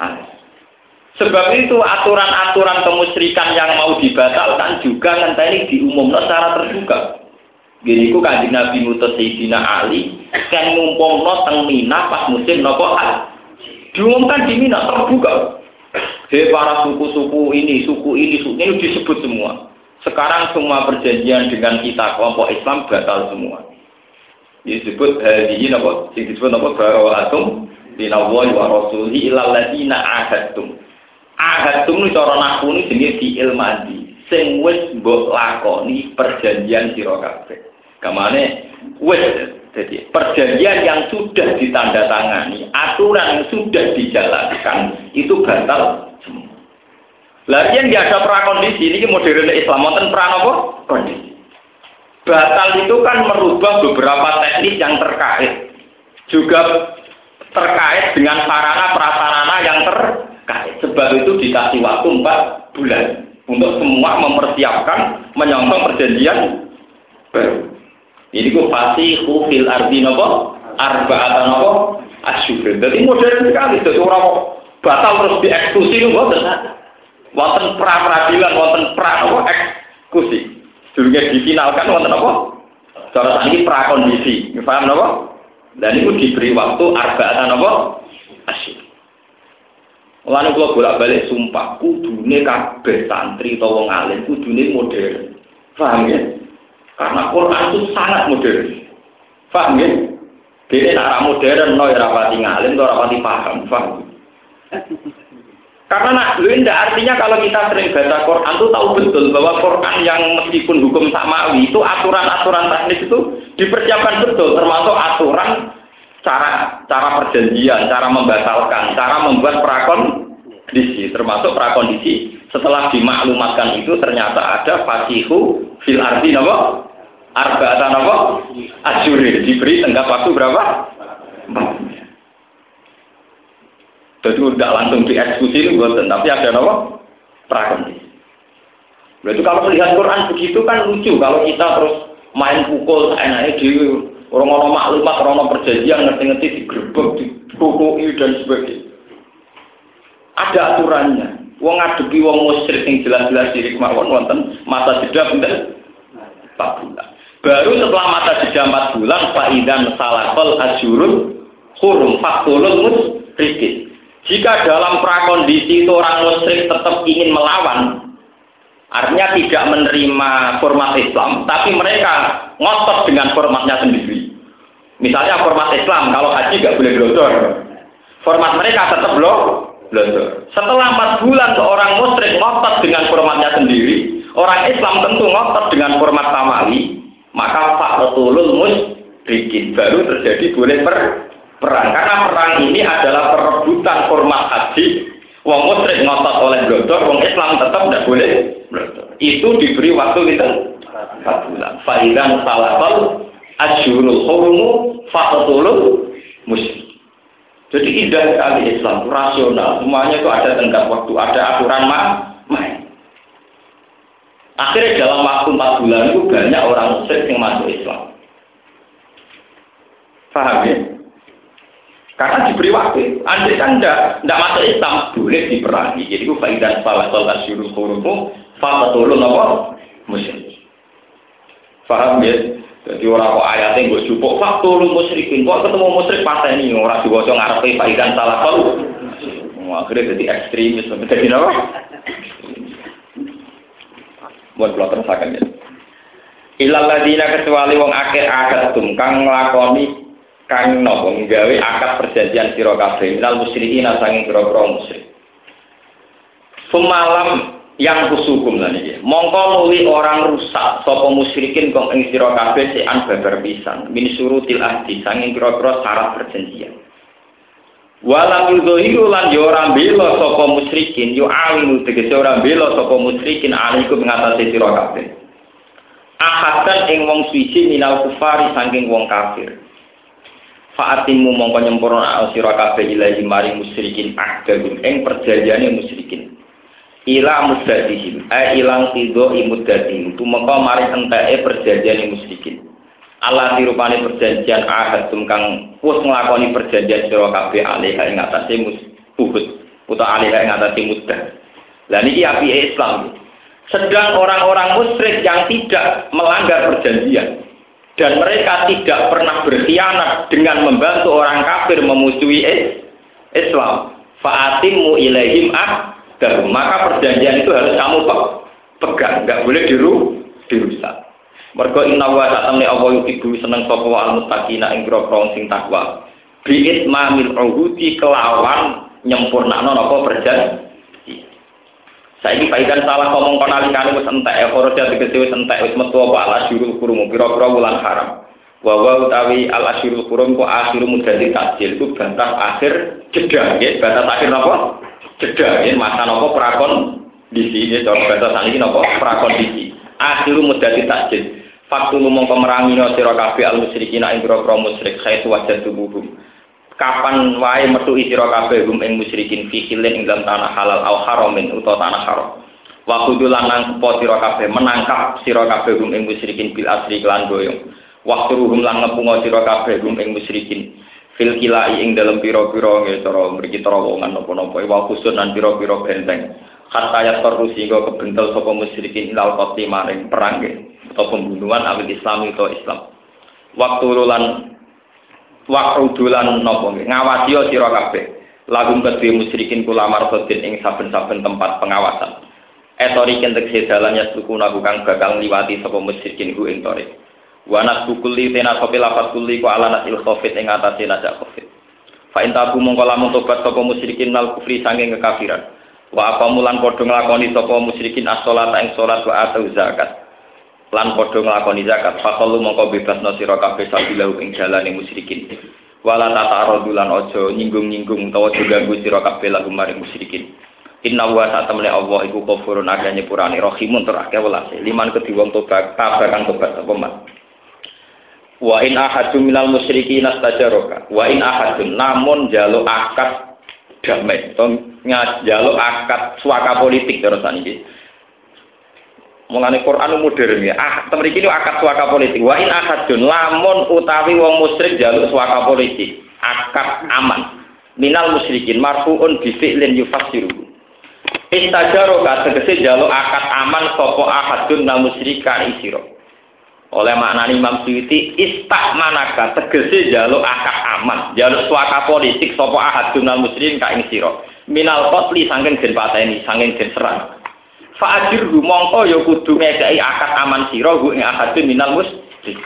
Sebab itu aturan-aturan kemusyrikan yang mau dibatalkan juga nanti diumumkan secara terbuka. Gini ku Kanjeng Nabi ngutus Sayyidina Ali kan ngumpulno teng Mina pas musim napa diumumkan di Mina terbuka. Hei para suku ini disebut semua. Sekarang semua perjanjian dengan kita kelompok Islam batal semua. Disebut hadhihi napa? Disebut napa bara'atum minallahi wa rasulihi ilal ladzina ahadtum. Ahadtum ini cara nahwu ini jenenge fi'il madhi. Sing wis mbok lakoni perjanjian sira kabeh. Kamane wis jadi perjanjian yang sudah ditandatangani, aturan yang sudah dijalankan itu batal semua. Larian dia ada prakondisi ini modern Islam, wonten pra apa? Kondisi. Batal itu kan merubah beberapa teknis yang terkait, juga terkait dengan sarana prasarana yang terkait. Sebab itu dikasih waktu 4 bulan untuk semua mempersiapkan menyongsong perjanjian baru. Ini ku fasihu fil ardi napa? Arba'atan napa? Asyhur. Jadi modern sekali. Jadi orang batal terus dieksekusi itu mboten. Wonten pra-peradilan, wonten pra-apa eksekusi. Durunge difinalkan wonten apa? Cara sakniki prakondisi. Paham napa? Dan itu diberi waktu arba'atan napa? Asyhur. Lan kula bolak-balik sumpah kudune kabeh santri utawa wong alim kudune modern. Paham ya? Karena Quran itu sangat modern. Paham ya? Dene nek modern no ya rapati ngalim, ora rapati paham. Paham? Karena artinya kalau kita sering baca Quran itu tahu betul bahwa Quran yang meskipun hukum samawi itu aturan-aturan teknis itu dipersiapkan betul, termasuk aturan cara perjanjian, cara membatalkan, cara membuat prakondisi, termasuk prakondisi setelah dimaklumatkan itu ternyata ada fasihu fil ardi napa? Arba'atan napa? Asyurin diberi tenggat waktu berapa? 4. Jadi tidak langsung dieksekusi itu, tapi ada apa? Prakondisi. Berarti kalau melihat Quran begitu kan lucu. Kalau kita terus main pukul, enaknya di orang-orang maklumat, orang-orang perjanjian, ngerti-ngerti digerebek, dipukuli dan sebagainya. Ada aturannya. Wong ngadepi wong musyrik yang jelas-jelas diri kemauan wonten masa jeda pinten 4 bulan. Baru setelah masa jeda 4 bulan, fa'idan salakol asyurun hurum faktulun musyrikin. Jika dalam prakondisi itu orang musyrik tetap ingin melawan, Artinya tidak menerima format Islam, tapi mereka ngotot dengan formatnya sendiri. Misalnya format Islam, kalau haji nggak boleh glodor. Format mereka tetap glodor. Setelah 4 bulan seorang musyrik ngotot dengan formatnya sendiri, orang Islam tentu ngotot dengan format samawi, maka faqtulul musyrikin baru terjadi boleh perang. Karena perang ini adalah perebutan format haji. Wong musyrik ngotot oleh glodor, wong Islam tetap tidak boleh glodor. Itu diberi waktu kita 4 bulan. Fa'idan salafal asyurul hurumu faqtulul musyrik. Jadi indah sekali Islam, itu rasional. Semuanya itu ada tenggat waktu, ada aturan main. Akhirnya dalam waktu 4 bulan itu banyak orang musyrik yang masuk Islam. Paham ya? Karena diberi waktu. Andai kan tidak masuk Islam, boleh diperangi. Jadi itu fa'idan salafal asyurul hurumu faqtulul musyrik. Paham ya? Jadi orang kok ayatnya gue jupuk faqtulul musyrikin. Kok ketemu musyrik pateni orang diwaca ngarepe fa'idan salafal. Akhirnya jadi ekstremis, jadi apa? Buat kula terusaken ya. Ilal ladina kecuali wong akeh akad kang nglakoni kang napa nggawe akad perjanjian sira kabeh minal musyrikin sanging pira-pira musyrik. Semalam yang kusukum lan iki. Mongko nuli orang rusak sapa musyrikin kang ing sira kabeh sean babar pisan min surutil ahdi sanging pira-pira syarat perjanjian. Walam yudhiru lan yo ora bela sapa musyrikin yo awinu tegese ora bela sapa musyrikin alaikum ngatasi sira kabeh. Ahadan ing wong suci minal kufari saking wong kafir. Fa'atimu mongko nyempurna sira kabeh ilahi mari musyrikin akdahum ing perjanjiane musyrikin. Ila muddatihim ilang tido imuddatihim tumeka mari enteke perjanjiane musyrikin. Allah dirupani perjanjian ahadum kang wis nglakoni perjanjian sira kabeh alih ing atase uhud utawa alih ing atase muddah. Lah niki apike Islam. Sedang orang-orang musyrik yang tidak melanggar perjanjian dan mereka tidak pernah berkhianat dengan membantu orang kafir memusuhi Islam. Fa'atimu ilaihim ahdahum. Maka perjanjian itu harus kamu pegang, enggak boleh dirusak. Mergo inna wa ta'ala Allah yuhibbu seneng sapa al muttaqina ing grogro sing takwa. Bi itmamil uhudi kelawan nyempurnakno napa perjanjian. Saiki paikan salah ngomong kon alikane wis entek foroja tegese wis entek wis metu apa al asyurul hurum pira-pira wulan haram. Wa wa utawi al asyurul hurum ku akhiru mudati takjil ku batas akhir jeda nggih batas akhir napa? Jeda nggih masa napa prakon disi nggih batas saniki napa prakon disi. Akhiru mudati takjil. Faktu mongko merangino sira kabeh al musyrikin ing pira-pira musyrik khaitu wajah tubuhum. Kapan wae metu sira kabeh gum ing musyrikin fi khilin ing dalam tanah halal au haramin utawa tanah haram. Wa kudulan nangpo sira kabeh menangkap sira kabeh gum ing musyrikin bil asri lan boyong. Wa turuhum lan ngepungo sira kabeh gum ing musyrikin fil kilai ing dalam pira-pira nggih cara mriki terowongan napa-napa wa khusun lan pira-pira benteng. Hatta ya terus sehingga kebentel sapa musyrikin ilal qati maring perang atau pembunuhan awil Islam atau Islam. Waktudulan nopo ngawasi sira kabeh lagum kedhe musyrikin kula marhodin ing saben-saben tempat pengawasan. Etori kentek sedalannya suku nabu kang bakal liwati sapa musyrikin ku ing tore. Wa nasbukuli tena sapa lafaz kuli ku ala nasil khofit ing atase najak khofit. Fa intabu mongko lamun tobat sapa musyrikin nal kufri saking kekafiran. Wa apamulan padha nglakoni sapa musyrikin as-shalat ing salat wa atu zakat. Lan padha nglakoni zakat faqalu mongko bebasno sira kabeh sabilahu ing dalane musyrikin wala tata'arudulan aja nyinggung-nyinggung utawa ganggu sira kabeh lagu maring musyrikin. Inna wa ta'ala Allah iku ghafurun agane purane rahimun tur akeh welase liman kedhi wong tobat kang tobat sapa man. Wa in ahadun minal musyrikin astajaraka wa in ahadun namun jaluk akad damai to jaluk akad suaka politik terus saniki. Mulane Quran modern ya. Mriki niku akad suaka politik. Wa in ahadun lamun utawi wong musyrik jaluk suaka politik, akad aman. Minal musyrikin marfuun bi fi'lin yufassiru. Istajaro ka tegese jaluk akad aman sapa ahadun nal musyrika isira. Oleh maknane Imam Suyuti istakmanaka tegese jaluk akad aman, jaluk suaka politik sapa ahadun nal musyrikin ka ing sira. Minal qatli saking den pateni, saking den serang. Fa'ajir mongko ya kudu ngekeki akad aman sira hu ing akadun minal musyrik.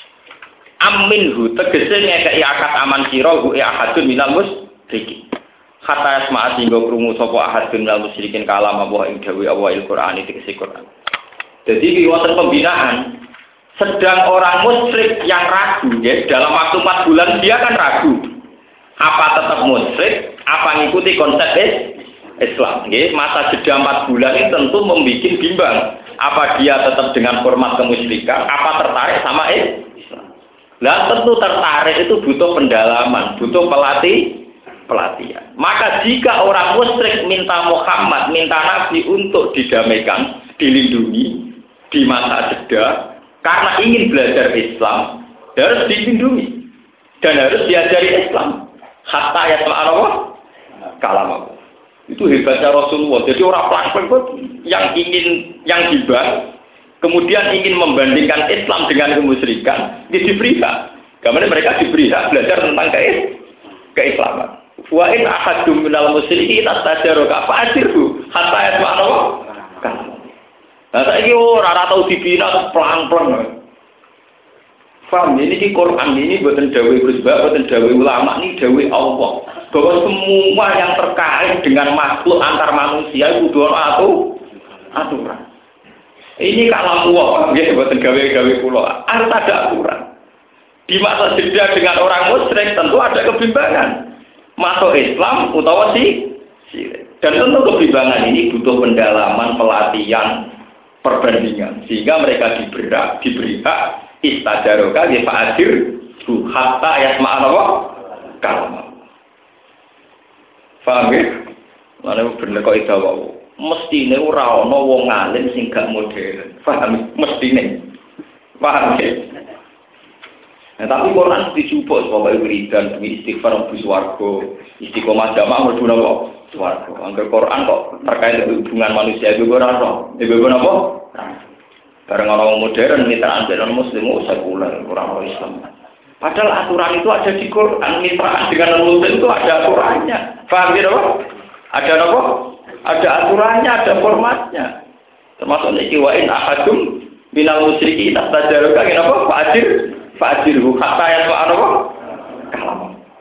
Aminhu tegese ngekeki akad aman sira hu ing akadun minal musyrik. Kata asma singgo krungu sapa ahadun minal musyrikin kalam apa ing dawuh Allah Al-Qur'an iki Quran. Jadi iki wonten pembinaan. Sedang orang musyrik yang ragu ya, dalam waktu 4 bulan dia kan ragu. Apa tetap musyrik, apa ngikuti konsep Islam. Ya, masa jeda 4 bulan ini tentu membuat bimbang. Apa dia tetap dengan format kemusyrikan, apa tertarik sama Islam. Nah tentu tertarik itu butuh pendalaman, butuh pelatihan. Maka jika orang musyrik minta Muhammad, minta Nabi untuk didamaikan, dilindungi di masa jeda, karena ingin belajar Islam, harus dilindungi dan harus diajari Islam. Hatta yasma'allah kalam. Itu hebatnya Rasulullah. Jadi orang pelan-pelan yang dibahas, kemudian ingin membandingkan Islam dengan kemusyrikan, diberi hak. Karena mereka diberi hak belajar tentang keislaman. Wa in ahadum minal musyrikin istajaraka fa'ajirhu hatta yasma'allah kalam. Nah, saiki ora tau dibina pelan-pelan. Paham, ini di Quran ini buatan dawai Gus Ba, buatan dawai ulama ini dawai Allah. Bahwa semua yang terkait dengan makhluk antar manusia itu aturan. Ini kalam Allah, ya buatan gawe-gawe kula. Harus ada aturan. Di masa jeda dengan orang musyrik tentu ada kebimbangan. Masuk Islam utawa syirik. Dan tentu kebimbangan ini butuh pendalaman, pelatihan, perbandingan sehingga mereka diberi hak istajaroka ya fa'adir hatta yasma'allah kalam. Paham ya? Mana bener kok itu wae. Mestine ora ana wong alim sing gak modern. Paham? Mestine. Paham ya? Nah, tapi Quran dijupuk supaya wiridan demi istighfar mlebu swarga, istiqomah jamaah mlebu napa? Swarga. Angger Quran kok terkait dengan hubungan manusia itu ora ono. Iku napa? Bareng orang modern mitraan dengan muslim sekuler, orang Islam. Padahal aturan itu ada di Quran, mitraan dengan muslim itu ada aturannya. Paham ya, Pak? Ada apa? Ada aturannya, ada formatnya. Termasuk niki wa in ahadum minal musyrikin tajaruka kenapa? Fa'ajirhu hatta yasma'allah kalam.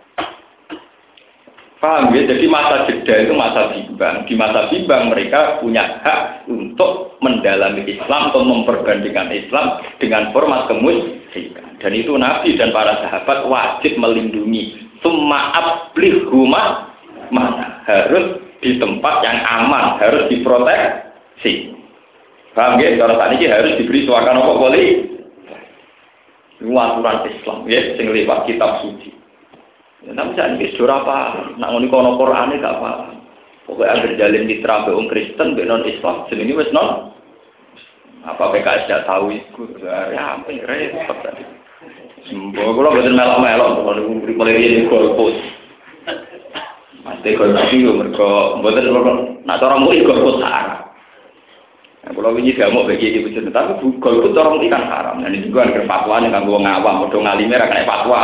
Paham ya? Jadi masa jeda itu masa bimbang. Di masa bimbang mereka punya hak untuk mendalami Islam atau memperbandingkan Islam dengan format kemusyrikan. Dan itu Nabi dan para sahabat wajib melindungi. Summa ablihuma mana harus di tempat yang aman, harus diproteksi. Paham ya? Kalau saat ini harus diberi suakan apa boleh? Itu aturan Islam ya, sing lewat kitab suci. Ya, tapi saya ini sudah apa? Nak ngoni kono Quran ini gak apa. Pokoknya agar jalin mitra beong Kristen, beong non Islam, sini wes non. Apa PKS tidak tahu itu? Ya, apa ini repot tadi. Semua kalau betul melok-melok, kalau beri pelirian golput. Mesti golput itu mereka betul nak orang murid golput haram. Kalau ini tidak mau bagi di betul, tapi golput orang murid kan haram. Dan itu juga ada fatwa yang kan gua ngawam, udah ngalimnya kena fatwa.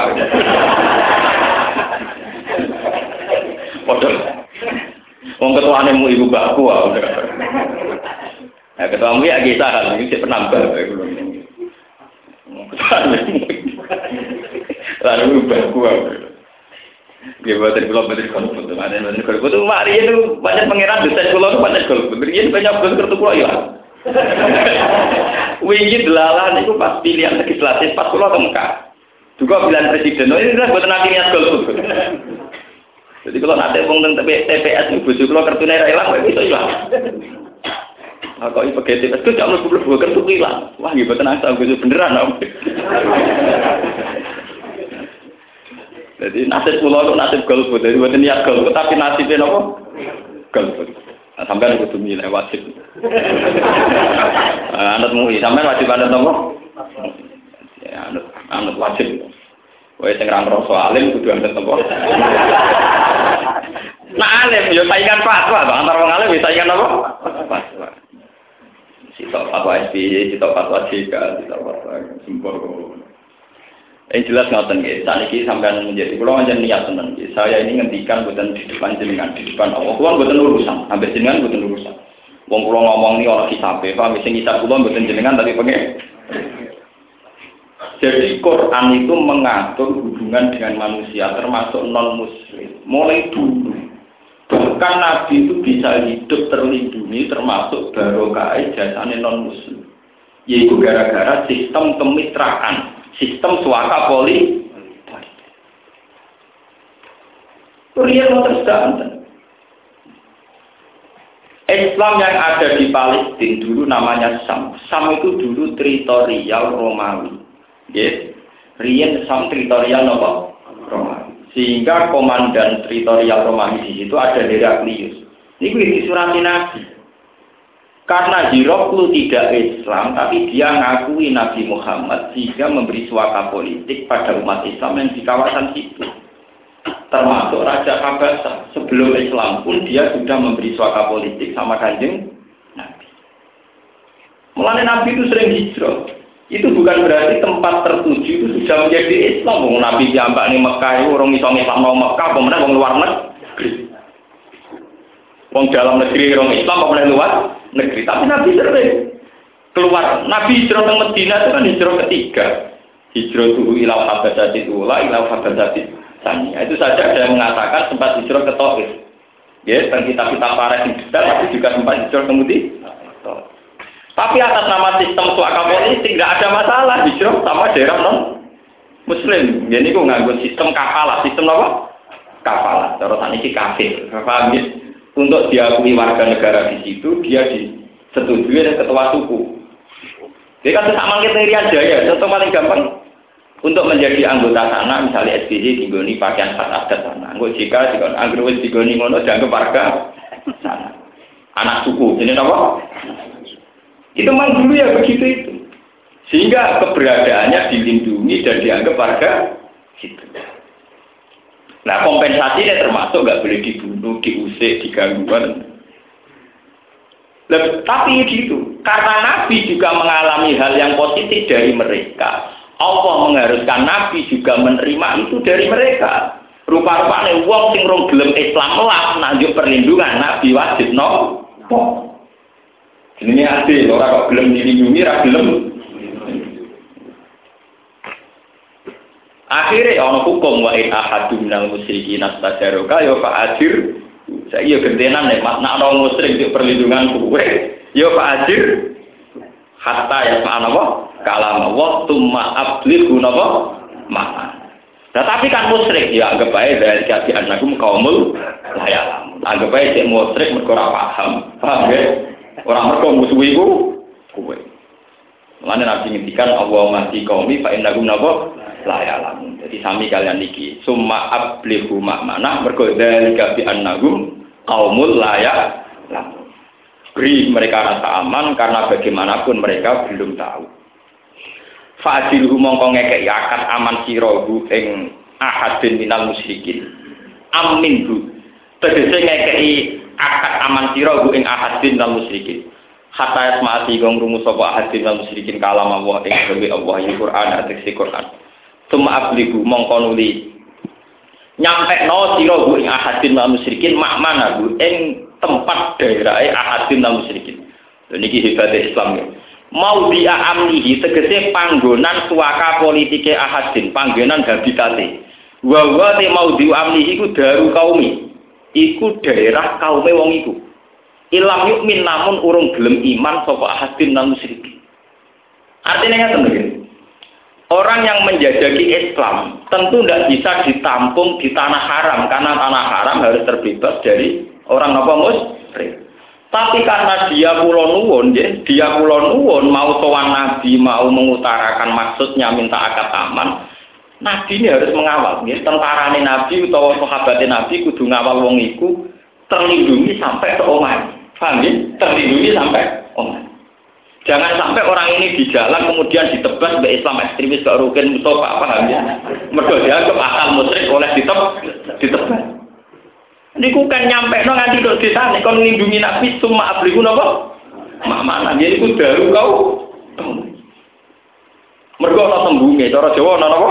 Waduh, wong ketuane mu ibu baku udah. Nah, ketuamu ya kita kan ini penambah kayak gitu. Lalu baku. Dia buat belum betul kalau ada betul kalau betul mari itu banyak pangeran dosen kula itu banyak kalau begini banyak betul kartu kula ya. Wingi delalah niku pas pilihan legislatif pas kula ke Mekah. Juga pilihan presiden. Ini adalah buat nanti niat golput. Jadi kalau nanti ngomong TPS itu bujuk kalau kartu naira hilang, bisa hilang. Kalau ini pakai TPS itu jangan lupa kartu hilang. Wah, gitu tenang sama bujuk beneran, om. Jadi nasib pulau itu nasib golput, jadi buat niat golput, tapi nasibnya apa? Golput. Nah, sampai ada kudu nilai wajib. Anutmu, sampai wajib anut apa? Ya, anut wajib. Wah, sing ra ngrasa alim kudu anut apa? Nah, alim yo saingan fatwa, antara wong alim saingan apa? Fatwa. Sitok fatwa SPY, sitok fatwa JK, sitok fatwa sembako. Jelas ngoten nggih. Saniki sampean menjadi kula pancen niat tenan nggih. Saya ini ngendikan boten di depan jenengan, di depan Allah. Kula boten urusan, ambek jenengan boten urusan. Wong kula ngomong ini ana kisabe, paham sing kisah kula mboten jenengan tapi pengen. Jadi Quran itu mengatur hubungan dengan manusia termasuk non muslim. Mulai dulu bahkan Nabi itu bisa hidup terlindungi termasuk barokah jasane non muslim. Yaitu gara-gara sistem kemitraan, sistem suaka politik. Rian mau terus Islam yang ada di Palestina dulu namanya Sam. Sam itu dulu teritorial Romawi. Yes. Rian Sam teritorial apa? Romawi. Sehingga komandan teritorial Romawi di situ ada Heraklius. Ini di surat Nabi. Karena Hiroklu tidak Islam, tapi dia ngakui Nabi Muhammad sehingga memberi suaka politik pada umat Islam yang di kawasan situ. Termasuk Raja Habasah sebelum Islam pun dia sudah memberi suaka politik sama Kanjeng Nabi. Mulanya Nabi itu sering hijrah. Itu bukan berarti tempat tertuju itu sudah menjadi Islam. Nabi diambak nih Mekah itu orang Islam Islam mau Mekah, kemudian orang luar negeri. Orang dalam negeri orang Islam, kemudian luar negeri. Tapi Nabi sering keluar. Nabi hijrah ke Medina itu kan hijrah ketiga. Hijrah tuh ilau Habasah ula, ilau Habasah Tanya. Itu saja ada yang mengatakan sempat hijrah ke Taif. Ya, dan kita parah di detail, tapi juga sempat hijrah kemudian. Tapi atas nama sistem suaka politik tidak ada masalah hijrah sama daerah non Muslim. Jadi aku nganggur sistem kafalah, sistem apa? Kafalah. Terus ini kafir. Paham ya? Untuk diakui warga negara di situ, dia disetujui oleh ketua suku. Jadi kan sama kita Irian Jaya, contoh paling gampang. Untuk menjadi anggota sana, misalnya SBY digoni pakaian khas adat sana. Anggota jika anggota digoni ngono dianggap warga sana. Anak suku, ini apa? Itu memang dulu ya begitu itu. Sehingga keberadaannya dilindungi dan dianggap warga situ. Nah kompensasinya termasuk nggak boleh dibunuh, diusik, digangguan. Tapi gitu, karena Nabi juga mengalami hal yang positif dari mereka. Allah mengharuskan Nabi juga menerima itu dari mereka. Rupa-rupanya wong sing rong gelem Islam lah nanjuk perlindungan Nabi wajib no. Ini adil, orang kok gelem dilindungi, ra gelem. Akhirnya ono hukum wa in ahadun minal musyrikin astajaroka ya fa'adir. Saya gentenan nek makna ono musyrik di perlindungan kuwe ya fa'adir. Hatta ya ma'ana apa? Kalam Allah tumma ablighu napa? Ma'ana. Nah, tapi kan musyrik ya anggap ae dari kasih anagum kaumul layalam. Anggap ae cek musyrik mergo ora paham. Paham ya? Ora mergo musuh iku kowe. Mulane Nabi ngendikan Allah mati kaumi fa innahum napa? Layalam. Jadi sami kalian niki summa ablighu ma'ana mergo dari kasih anagum kaumul layalam. Beri mereka rasa aman karena bagaimanapun mereka belum tahu. Fa'adilhu mongko ngekek akad aman sirahu ing ahadin minal musyrikin. Amin bu. Tegese ngekeki akad aman sirahu ing ahadin minal musyrikin. Hatta yasma'ati gong rumus sapa ahadin minal musyrikin kalam Allah ing dewe Allah ing Quran atiksi Quran. Summa abligu mongko nuli nyampekno sirahu ing ahadin minal musyrikin makmana bu ing tempat daerah ahadin minal musyrikin. Lha niki hebate Islam ya. Mau dia amnihi tegese panggonan suaka politike ahadin, panggonan habitate. Wa te mau dia amnihi iku daru kaumi. Iku daerah kaume wong iku. Ilam yukmin namun urung gelem iman sapa ahadin nang musyrikin. Artinya ngaten lho. Orang yang menjajaki Islam tentu tidak bisa ditampung di tanah haram karena tanah haram harus terbebas dari orang apa musyrik. Tapi karena dia kula nuwun mau sowan Nabi, mau mengutarakan maksudnya minta akad aman, Nabi ini harus mengawal. Tentarane Nabi utawa sahabatnya Nabi kudu ngawal wong iku terlindungi sampai ke omah. Paham ya? Terlindungi sampai omah. Jangan sampai orang ini di jalan kemudian ditebas oleh Islam ekstremis ke Rukin Mustafa, paham ya? Mergo dianggap akal musyrik oleh ditebas. Niku kan nyampe no nganti dok desa nek kon nglindungi Nabi summa abliku napa? Mana dia iku daru kau. Mergo ana tembunge cara Jawa ana napa?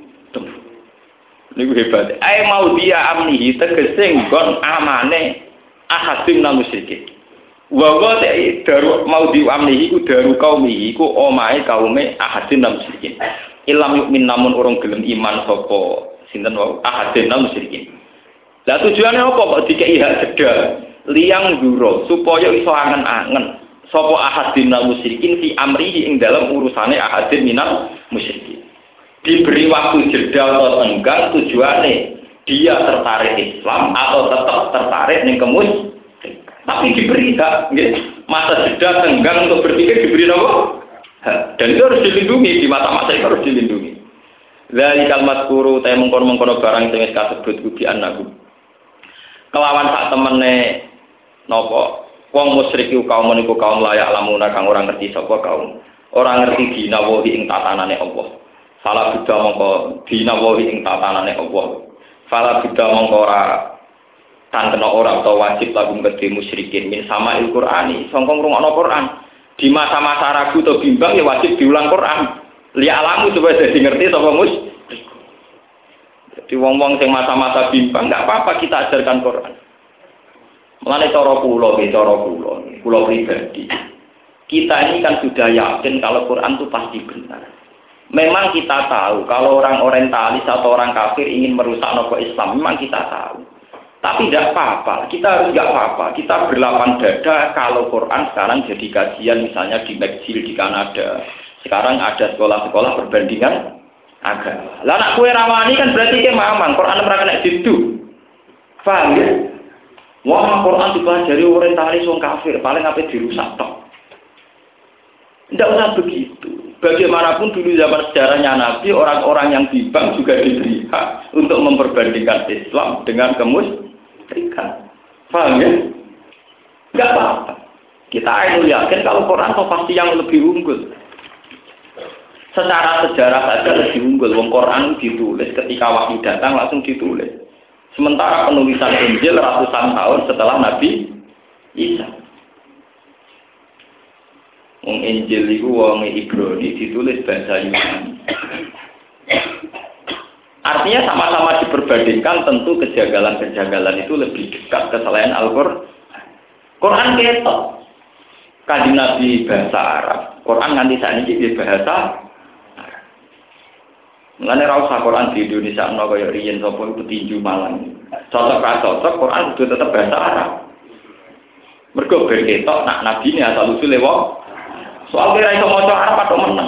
Niku hebat. Ae mau dia amnihi tegese nggon amane ahadin nang musyrikin. Wa daru mau diamnihi ku daru kaumihi ku omahe kaume ahadin nam musyrikin. Ilam yukmin namun urung gelem iman sapa sinten wau ahadin nam musyrikin. Lah tujuane apa kok dikei hak jedal liyang nduro supaya iso angen-angen sapa ahadin nam musyrikin fi amrihi ing dalam urusane ahadin minal musyrikin. Diberi waktu jeda atau tenggang tujuane dia tertarik Islam atau tetap tertarik ning kemus. Tapi diberi hak, masa jeda tenggang untuk berpikir diberi apa? Dan itu harus dilindungi, di mata-mata itu harus dilindungi. Dari kalimat kuru, saya mengkono-mengkono barang yang disebut kubian aku. Kelawan sak temene nopo, wong musyrik kaum meniku kaum layak lamuna kang orang ngerti sapa kaum. Orang ngerti dinawahi ing tatanane Allah. Salah beda mongko dinawahi ing tatanane Allah. Salah beda mongko ora kan kena orang atau wajib lagu kedhe musyrikin min sama Al-Qur'ani sangka ngrungokno Quran di masa-masa ragu atau bimbang ya wajib diulang Quran li alamu supaya dadi ngerti sapa musyrik. Jadi wong-wong sing masa-masa bimbang enggak apa-apa kita ajarkan Quran. Mulane cara kula pribadi. Kita ini kan sudah yakin kalau Quran itu pasti benar. Memang kita tahu kalau orang orientalis atau orang kafir ingin merusak nopo Islam, memang kita tahu. Tapi tidak apa-apa, kita harus nggak apa-apa. Kita berlapang dada kalau Quran sekarang jadi kajian misalnya di McGill di Kanada. Sekarang ada sekolah-sekolah perbandingan agama. Lah anak kue rawani kan berarti ke mamang, Quran mereka kena situ. Paham ya? Wah, Quran dipelajari orientalis wong kafir, paling apa dirusak tok. Tidak usah begitu. Bagaimanapun dulu zaman sejarahnya Nabi, orang-orang yang bimbang juga diberi hak untuk memperbandingkan Islam dengan kemusyrikan. Paham ya? Enggak apa-apa. Kita yakin kalau Quran itu pasti yang lebih unggul. Secara sejarah saja lebih unggul. Wong Quran ditulis ketika wahyu datang langsung ditulis. Sementara penulisan Injil ratusan tahun setelah Nabi Isa. Wong Injil itu wong Ibrani ditulis bahasa Yunani. Artinya sama-sama diperbandingkan tentu kejanggalan-kejanggalan itu lebih dekat ke selain Al-Qur'an. Quran ketok. Kanjeng Nabi bahasa Arab. Quran nganti sakniki di bahasa Arab. Mulane ra usah Quran di Indonesia ana kaya riyen sapa petinju Malang. Cocok ra cocok Quran kudu tetep bahasa Arab. Mergo ben ketok nak nabine asal usule wong soal kira iso maca Arab atau menang.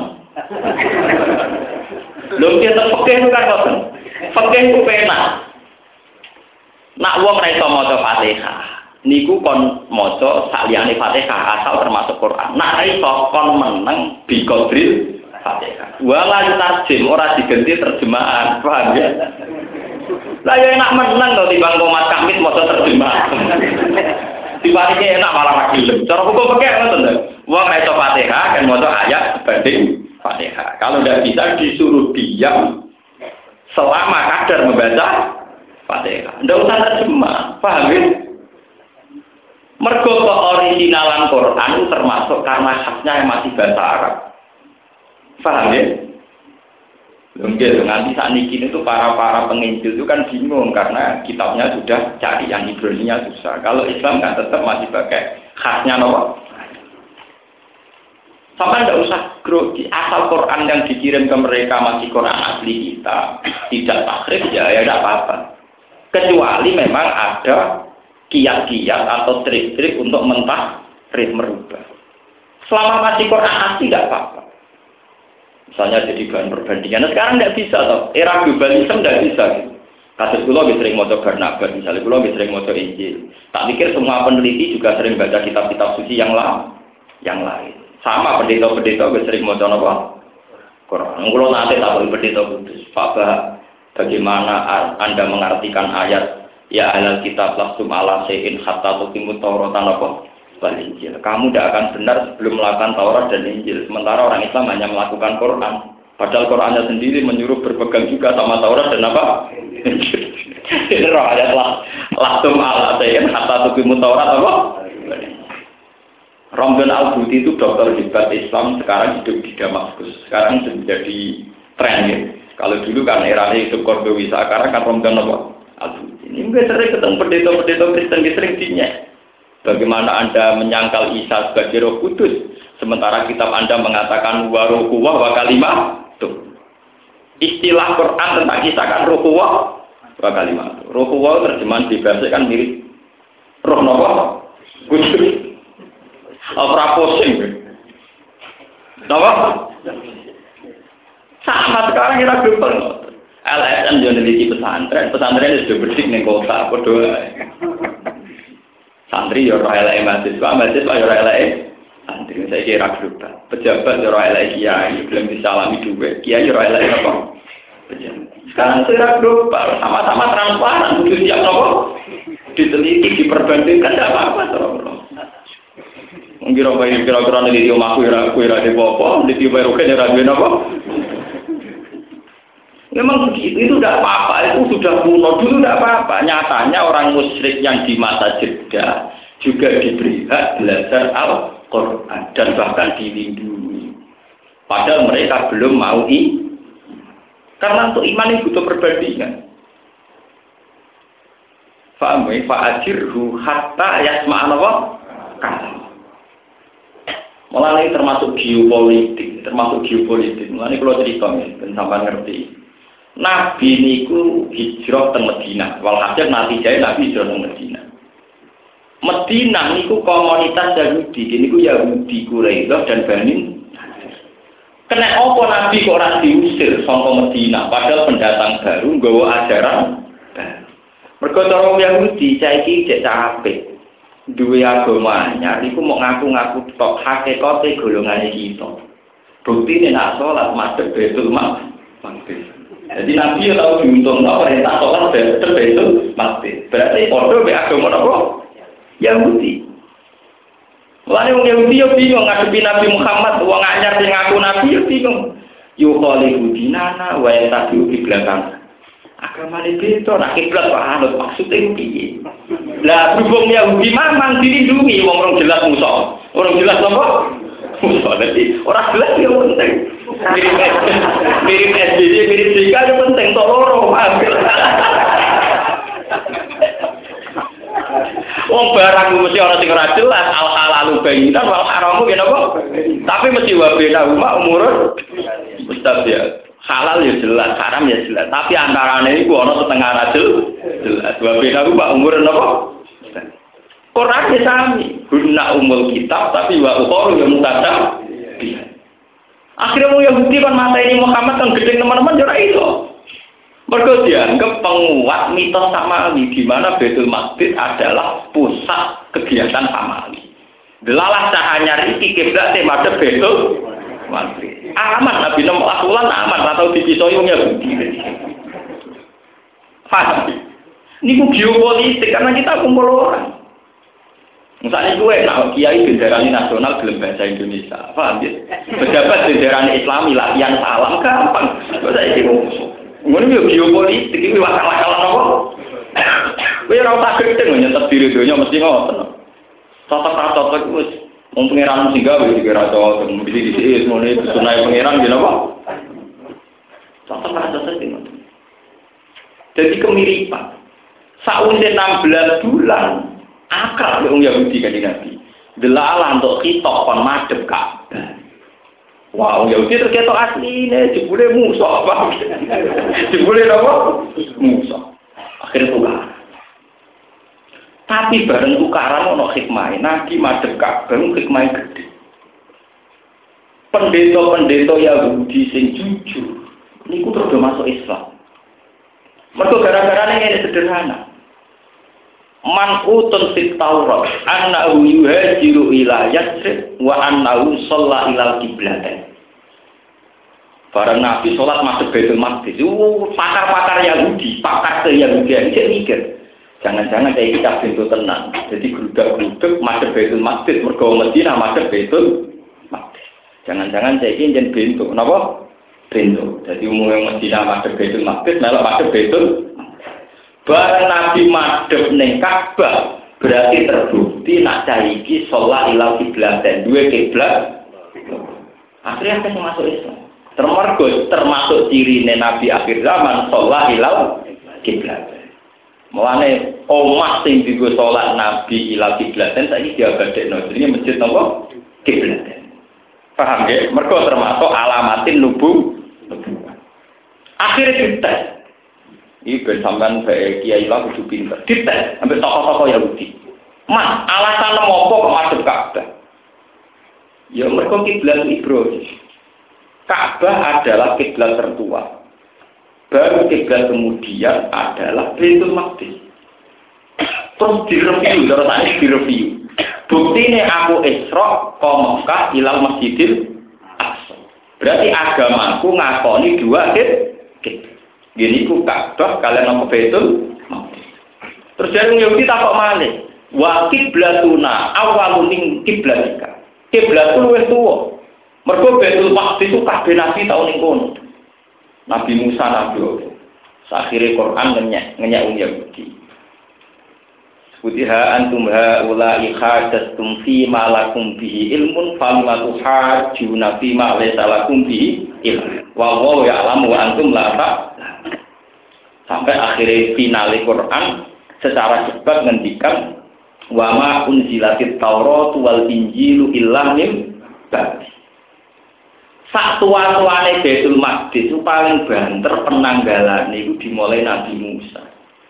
Lho kita fikih itu kan ngoten. Fikih itu penak. Nak wong ra iso maca Fatihah, niku kon maca saliyane Fatihah asal termasuk Quran. Nak ra iso kon menang bi qadril Fatihah. Wala tarjim ora diganti terjemahan, paham ya? Lah ya enak menang to timbang Mas Kamit maca terjemahan. Tiba-tiba enak malah lagi gelem. Cara hukum fikih ngoten lho. Wong nek Fatihah kan maca ayat sebanding Fatihah. Kalau tidak bisa disuruh diam selama kadar membaca Fatihah. Tidak usah terjemah, paham ya? Mergo keoriginalan Quran termasuk karena khasnya yang masih bahasa Arab. Paham ya? Mungkin nanti saat ini itu para penginjil itu kan bingung karena kitabnya sudah cari yang Ibrani-nya susah. Kalau Islam kan tetap masih pakai khasnya nomor. Sampai tidak usah grogi, asal Quran yang dikirim ke mereka masih Quran asli kita, tidak takrif ya tidak apa-apa. Kecuali memang ada kiat-kiat atau trik-trik untuk mentakrif merubah. Selama masih Quran asli tidak apa-apa. Misalnya jadi bahan perbandingan. Nah, sekarang tidak bisa toh. Era globalisme tidak bisa. Gitu. Kasus kula lebih sering maca Barnabas, misalnya kula lebih sering maca Injil. Tak pikir semua peneliti juga sering baca kitab-kitab suci yang lain. Sama pendeta-pendeta lebih sering maca apa? Quran. Kula nanti tak boleh pendeta kudus. Pak, bagaimana Anda mengartikan ayat ya ahlal kitab lastum ala sein hatta tuqimut tauratan apa? Injil. Kamu tidak akan benar sebelum melakukan Taurat dan Injil. Sementara orang Islam hanya melakukan Quran. Padahal Qurannya sendiri menyuruh berpegang juga sama Taurat dan apa? Ini roh ayat lastum ala sayin hatta tuqimut Taurat apa? Romdan Al-Buti itu dokter hebat Islam, sekarang hidup di Damaskus. Sekarang menjadi tren ya. Kalau dulu kan eranya hidup Kordowi, sekarang kan Romdan apa? Al-Buti. Ini mungkin sering ketemu pendeta-pendeta Kristen sering dinya. Bagaimana Anda menyangkal Isa sebagai Roh Kudus, sementara kitab Anda mengatakan wa ruhuwa wa kalimah. Tuh. Istilah Quran tentang Isa kan ruhuwa wa kalimah. Ruhuwa terjemahan dibahasa kan mirip roh napa? Kudus. Ora pusing. Napa? Sama sekarang kita global. LSM yo neliti pesantren sudah bersih ning kota padha. Santri yo ora eleke mahasiswa yo ora eleke santri. Saya kira global. Pejabat yo ora eleke kiai, belum disalami duwe. Kiai yo ora eleke apa? Pejabat. Sekarang secara global sama-sama transparan, kudu siap napa? Diteliti, diperbandingkan tidak apa-apa terus. Kira-kira neliti omahku ora de apa, neliti baru kan ora duwe napa? Memang begitu, itu tidak apa-apa, itu sudah kuno, dulu tidak apa-apa. Nyatanya orang musyrik yang di masa jeda juga diberi hak belajar Al-Quran dan bahkan dilindungi. Padahal mereka belum mau karena untuk iman itu butuh perbandingan. Fa'ajirhu hatta yasma'ana wa kalam. Mulai termasuk geopolitik. Mulai kalau cerita nih, sampai ngerti. Nabi niku hijrah ke Madinah. Walhasil natijahnya Nabi hijrah ke Madinah. Madinah niku komunitas Yahudi. Niku Yahudi Quraisy dan Bani. Kena apa Nabi kok ora diusir saka Madinah padahal pendatang baru nggawa ajaran baru. Mergo cara Yahudi saiki cek capek. Duwe agama anyar iku mau ngaku-ngaku tok hakikate golongane kita. Buktine nak salat madhep Baitul Maqdis. Jadi Nabi tahu diuntung perintah sholat betul mati. Berarti bodoh be agama apa? Yahudi. Mulane wong Yahudi yo bingung ngadepi Nabi Muhammad, wong anyar sing ngaku Nabi yo bingung. Yo khalifu dinana wa yatabi'u di belakang. Agama itu nak kiblat kok anut maksudnya piye? Lah berhubung Yahudi memang dilindungi wong orang jelas musuh. Orang jelas apa? Musuh. Jadi orang jelas yo penting. Mirip SBY, mirip Jika itu penting, tok loro ambil. Wong barang mesti ana sing ora jelas, al halalu bayinan wal haramu yen apa? Tapi mesti wa bena umur mustabiat. Halal ya jelas, haram ya jelas, tapi antarane iku ana setengah ra jelas. Wa bena umur napa? Quran ya sami, guna umul kitab tapi wa ukhra ya mutadab. Akhirnya mau Yahudi kan mata ini Muhammad kan gede teman-teman jora itu. Mereka dianggap penguat mitos Samawi di mana Baitul Maqdis adalah pusat kegiatan Samawi. Delalah cahanya riki kiblat madhep Baitul Maqdis. Aman Nabi Muhammad aman atau dipisoi wong Yahudi. Paham? Ini geopolitik karena kita kumpul orang. Misalnya gue, nah kiai benderani nasional belum bahasa Indonesia, paham ya? Pejabat benderani Islami latihan salam gampang. Saya itu ngomong geopolitik ini wakal-wakalan apa? Gue rasa tak gede nyetet diri dunia mesti ngotot. Cocok itu mau pengiran singgah, gue juga cocok. Bisa semuanya itu sunai pengiran gini apa? Cocok itu. Jadi kemiripan. Sausnya 16 bulan. Akal orang Yahudi kan Nabi. Delalah untuk kitab kon madhep Ka'bah. Wah, orang Yahudi terketok asline jebule musuh apa? Jebule apa? Musuh. Akhirnya tukar. Tapi bareng tukaran ono hikmah. Nabi madhep Ka'bah hikmah gede. Pendeta-pendeta Yahudi sing jujur niku terus masuk Islam. Mergo gara-garane ngene sederhana. Man utun fit Taurat annahu yuhajiru ila Yatsrib wa annahu shalla ila qiblatain. Barang Nabi salat masuk Baitul Maqdis. Pakar-pakar Yahudi, pakar Yahudian cek mikir. Jangan-jangan kayak kita bentuk tenang. Jadi gerudak-geruduk masuk Baitul Maqdis mergo Madinah masuk Baitul Maqdis. Jangan-jangan saya ini jen bentuk, napa? Bentuk. Jadi umumnya Madinah masuk Baitul Maqdis, melok masuk Baitul. Barang Nabi madhep ning Ka'bah berarti terbukti nak saiki sholat ilal kiblat dan dua kiblat. Akhirnya akan masuk Islam. Termasuk ciri Nabi akhir zaman sholat ilal kiblat. Mulane omah sing dienggo salat Nabi ila kiblaten saiki diabadekno jenenge masjid napa? Kiblaten. Paham nggih? Mergo termasuk alamatin nubuwah. Akhirnya dites. Iki ben sampean bae kiai lah kudu pinter. Dites sampai tokoh-tokoh Yahudi. Mas, alasan apa kok madhep Ka'bah? Ya mergo kiblat Ibrahim. Ka'bah adalah kiblat tertua. Baru kiblat kemudian adalah Baitul Maqdis. Terus direview, terus ini direview. Bukti ini aku Isra ke Mekah ilal Masjidil Aqsa. Berarti agamaku ngakoni dua kiblat. Gini ku Ka'bah kalian apa Baitul Maqdis. Terus dari Yahudi takok malih. Wa kiblatuna awalun min kiblatika. Kiblat ku luwih tuwa. Mergo Baitul Maqdis itu kabeh nabi tau ning kono. Nabi Musa, Nabi Allah. Akhirnya Quran ngenyak Yahudi. Sebutiha antum ha'ula'i khadastum fi malakum bihi ilmun famma tuhajjuna fi ma laysa lakum bihi ilmun. Wa wallahu ya'lamu wa antum la ta'lamun. Sampai akhirnya finale Quran secara cepat ngendikan wa ma unzilatit Taurat wal Injilu illa min ba'di. Sak tua-tuane Baitul Maqdis itu paling banter penanggalan itu dimulai Nabi Musa.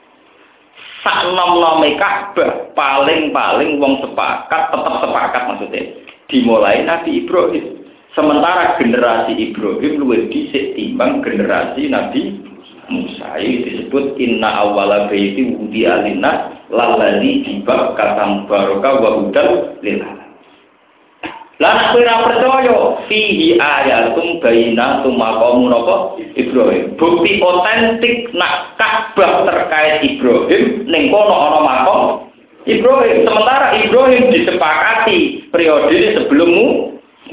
Sak nom-nome Ka'bah paling wong sepakat, tetap sepakat maksudnya dimulai Nabi Ibrahim. Sementara generasi Ibrahim luwih dhisik timbang generasi Nabi Musa. Ini disebut inna awwala baiti wudi'a lin-nas lalladzi bi Bakkah mubaraka wa hudan lil alamin. Lah nek ora percaya fihi ayatum bayyinatum maqamun apa Ibrahim. Bukti otentik nak Ka'bah terkait Ibrahim ning kono ana makam Ibrahim. Sementara Ibrahim disepakati periode sebelummu.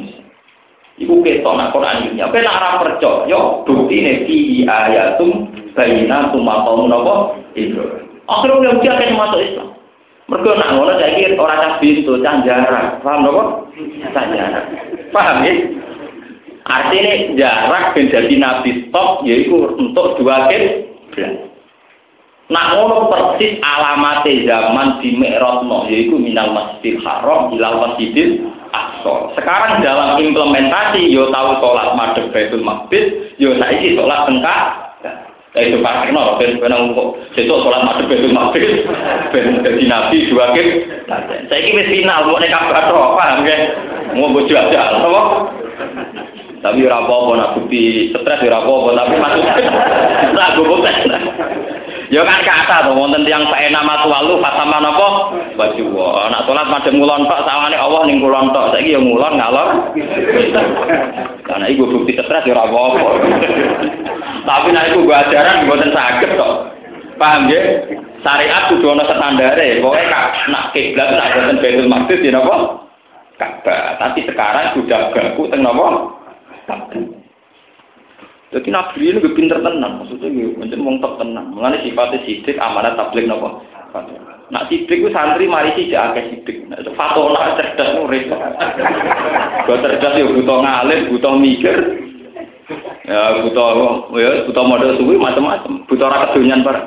Iku ketok nak Quran iki. Apa nek ora percaya buktine fihi ayatum bayyinatum maqamun apa Ibrahim. Akhirnya dia akan masuk Islam. Mergo nak ngono saiki ora cah bintu, cah jarak. Paham lho kok? Cah jarak. Paham ya? Artinya jarak ben dadi nabi stop yaiku untuk dua kiblat. Nak ngono persis alamate zaman di Mi'rajno yaiku minal Masjidil Haram ilal Masjidil Aqsa. Sekarang dalam implementasi yo tahu salat madhep Baitul Maqdis, yo saiki salat tengkak. Itu pakai nol, ben kok besok sholat madhep Baitul Maqdis, ben dadi nabi dua kiblat. Saiki wis final mau nek Ka'bah tok, paham nggih? Mau bojo aja, apa? Tapi ora apa-apa nak bukti stres ora apa-apa, tapi maksudnya ora goblok. Ya kan kata to wonten tiyang faena matwalu fatama napa? Baju. Nak sholat madhep ngulon tok sawane Allah ning ngulon tok. Saiki ya ngulon ngalor. Karena iku bukti stres ora apa-apa. Tapi nek iku gua ajaran mboten saged kok. Paham nggih? Syariat kudu ana standare. Pokoke nak kiblat nak boten Baitul Maqdis ya napa? Ka'bah. Tapi sekarang sudah baku teng napa? Ka'bah. Jadi Nabi ini lebih pinter tenang, maksudnya macam wong tok tenang. Mengenai sifatnya sidik, amanat tabligh napa? Nak sidik itu santri mari sih akeh sidik. Fatona cerdas nuris. Gua cerdas ya butuh ngalim, butuh mikir. Ya butuh modal suwi macam-macam. Butuh ora kedonyan bareng.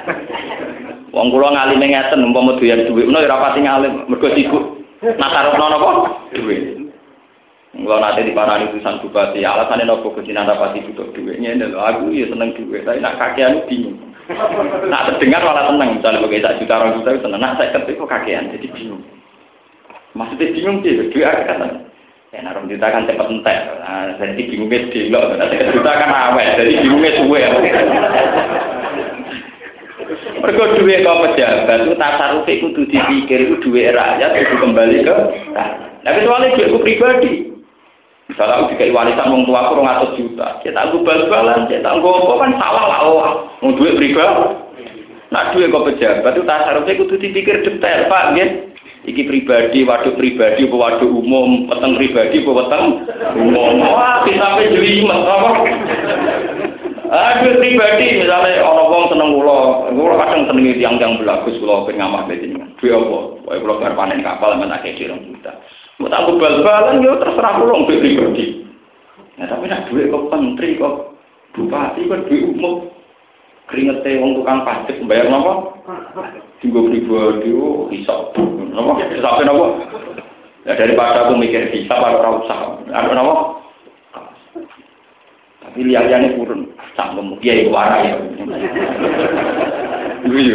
Wong kula ngalime ngeten umpama doyan dhuwit menawa ora pati ngalim, mergo sibuk. Nasarupno napa? Dhuwit. Kalau nanti di parani tulisan bupati, alasannya nopo kesinan rapati butuh duitnya, aku ya seneng duit, tapi nak kakean bingung. Nak terdengar malah seneng, misalnya pakai 1 juta 2 juta seneng, nak saya ketik kok kakean, jadi bingung. Maksudnya bingung sih, duit aku kan, ya nak 2 juta kan cepat entek, jadi bingungnya delok, 1 juta kan awet, jadi bingungnya suwe. Mergo duit kau pejabat itu tasarrufe kudu dipikir itu duit rakyat kudu kembali ke. Nah kecuali duitku pribadi. Misalnya aku dikai warisan wong tua aku 200 juta, kita tangguh bal-balan, kita tangguh apa kan salah lah orang. Mau duit pribadi. Nah duit kau pejabat itu tasarrufe kudu dipikir detail, Pak, nggih. Iki pribadi, waduk pribadi, apa waduk umum, peteng pribadi, apa peteng umum. Wah, sampai jelimet apa? Duit pribadi, misalnya orang wong seneng kula kadang senengi tiang-tiang belagus kula ben ngamah bedine. Duit apa? Wae kula bar panen kapal men akeh 2 juta. Mau tak bal-balan yo terserah kula duit pribadi. Nah, tapi nek duit kok menteri kok bupati kok duit umum. Keringete wong tukang pajak bayar napa? Tinggo pribadi iso. Napa? Sampai napa? Ya daripada aku mikir bisa ora usah. Ada napa? Tapi lihat-lihatnya purun. Sanggup kiai warai. Iya.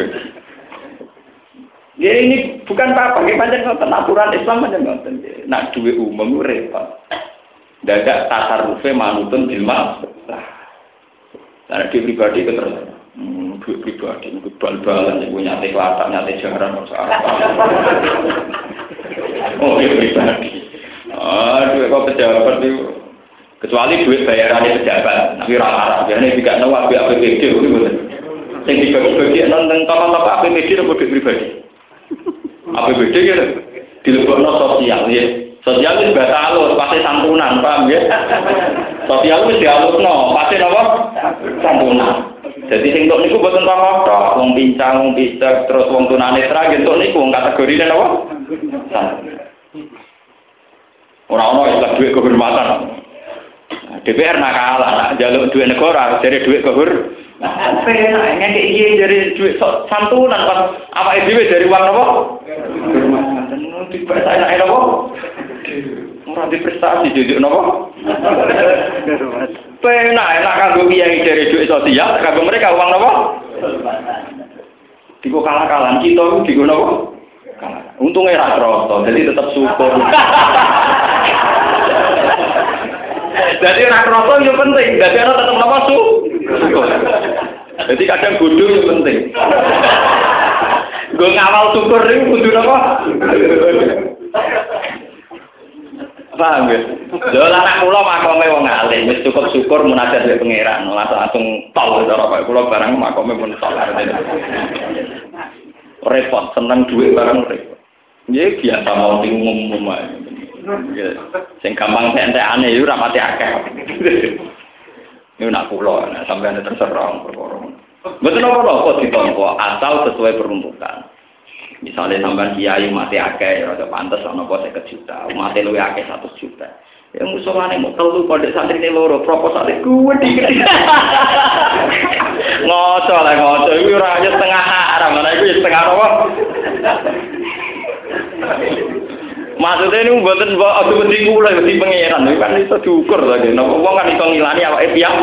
Ya ini bukan apa-apa, pancen ngoten aturan Islam pancen ngoten. Nak duwe umum repot. Dadak tasarufe manutun ilmu. Lah di pribadi itu terus. Duit pribadi itu bal-balan iku nyate kelatan, nyate jaran masalah. Oh, pribadi. Duit kok pejabat itu kecuali duit bayarannya pejabat, tapi rata-rata biasanya juga tahu APBD itu betul. Yang dibagi-bagi nonton tokoh-tokoh APBD atau duit pribadi. APBD gitu, dilebokno sosial ya. Sosial itu bahasa halus, pasti santunan, paham ya? Sosial itu dihalusno, pasti apa? Santunan. Jadi sing tok niku boten tokoh, wong pincang, wong picek, terus wong tunanetra gitu niku wong kategorine apa? Ora ono istilah duit kehormatan. DPR nakalah, nak jaluk duit negara, jadi duit kehormatan. Penak ngekek iki dari duit santunan pas awake dhewe dari uang apa? Kehormatan. Dibaca enak apa? Ora diprestasi duit napa? Penak enak kanggo kiai dari duit sosial, kanggo mereka uang napa? Digo kalah-kalahan kita digo napa? Kalah. Untungnya ra kroso, jadi tetap syukur. Jadi ora kroso yo penting, dadi ana tetep napa syukur. Jadi kadang bodoh yo penting. Gue ngawal syukur niku kudu napa? Paham ya? Lha anak kula makome wong alim, wis cukup syukur munajat mbek pangeran, langsung tol cara kaya kula barang makome pun tol. Repot, seneng duit barang repot. Ya biasa mau umum ae. Sing gampang entek-entekane yo ora pati akeh. Niku nak kula, sampeyan terserah perkara. Mboten apa-apa ditampa asal sesuai peruntukan. Misalnya sampean kiai mati akeh ya ora pantes ana apa 50 juta, mati luwih akeh 100 juta. Ya musuhane mau telu pondok santrine loro, proposale gede. Ngoco lah ngoco, iki ora aja setengah haram, ana iku setengah apa? Maksudnya ini mboten aku mesti kula mesti pangeran, kan iso diukur lagi. Napa wong kan iso ngilani awake piyam.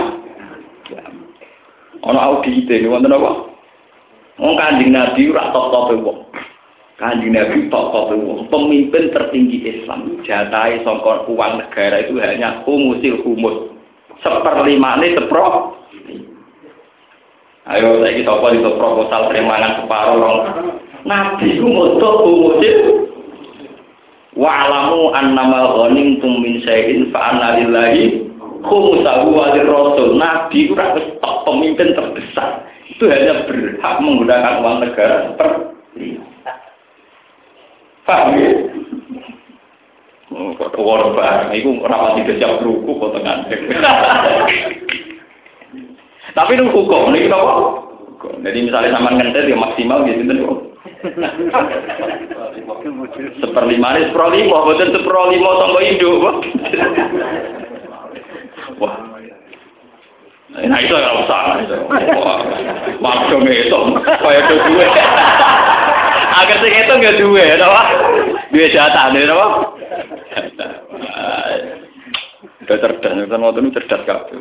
Ana audit iki wonten apa? Wong Kanjeng Nabi ora top-tope wong. Kanjeng Nabi top-tope wong. Pemimpin tertinggi Islam. Jatahe saka uang negara itu hanya humusil humus. 1/5 sepro. Ayo saiki sapa iso proposal terimangan separuh. Nabi ku moto humusil wa alamu annama ghanimtum min syai'in fa anna lillahi khumsahu wa lirrasul. Nabi ku ora pemimpin terbesar. Itu hanya berhak menggunakan uang negara seperti paham ya? Kok orang barang, itu rapat tidak siap beruku potongan. Tapi itu hukum, ini apa? Jadi misalnya sama ngentet ya maksimal gitu kan. 1/5 ini 1/5, betul 1/5 sama hidup. Wah. Nah itu yang usah. Waktu ngitung, kayak itu duit. Agar sing ngitung nggak duit, apa? Duit jatah, nih, apa? Udah cerdas, kan waktu itu cerdas kabeh.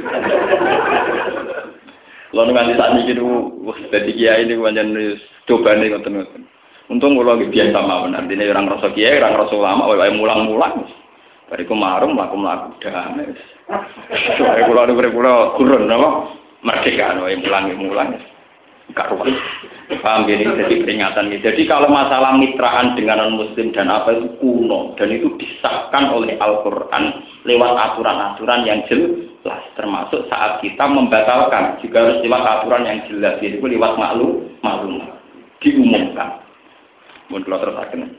Lalu nanti saat ini jadi kiai ini banyak coba nih ngoten-ngoten. Untung kalau biasa mawon, artinya orang rasa kiai, orang rasa ulama, mulang-mulang. Bariku marung, mlaku-mlaku damai. Soale kula kurun apa? Merdeka mulang. Karuan. Paham ini jadi peringatan ini. Jadi kalau masalah mitraan dengan non-muslim dan apa itu kuno dan itu disahkan oleh Al-Qur'an lewat aturan-aturan yang jelas, termasuk saat kita membatalkan juga harus lewat aturan yang jelas, yaitu lewat maklum diumumkan. Mun kula terusaken.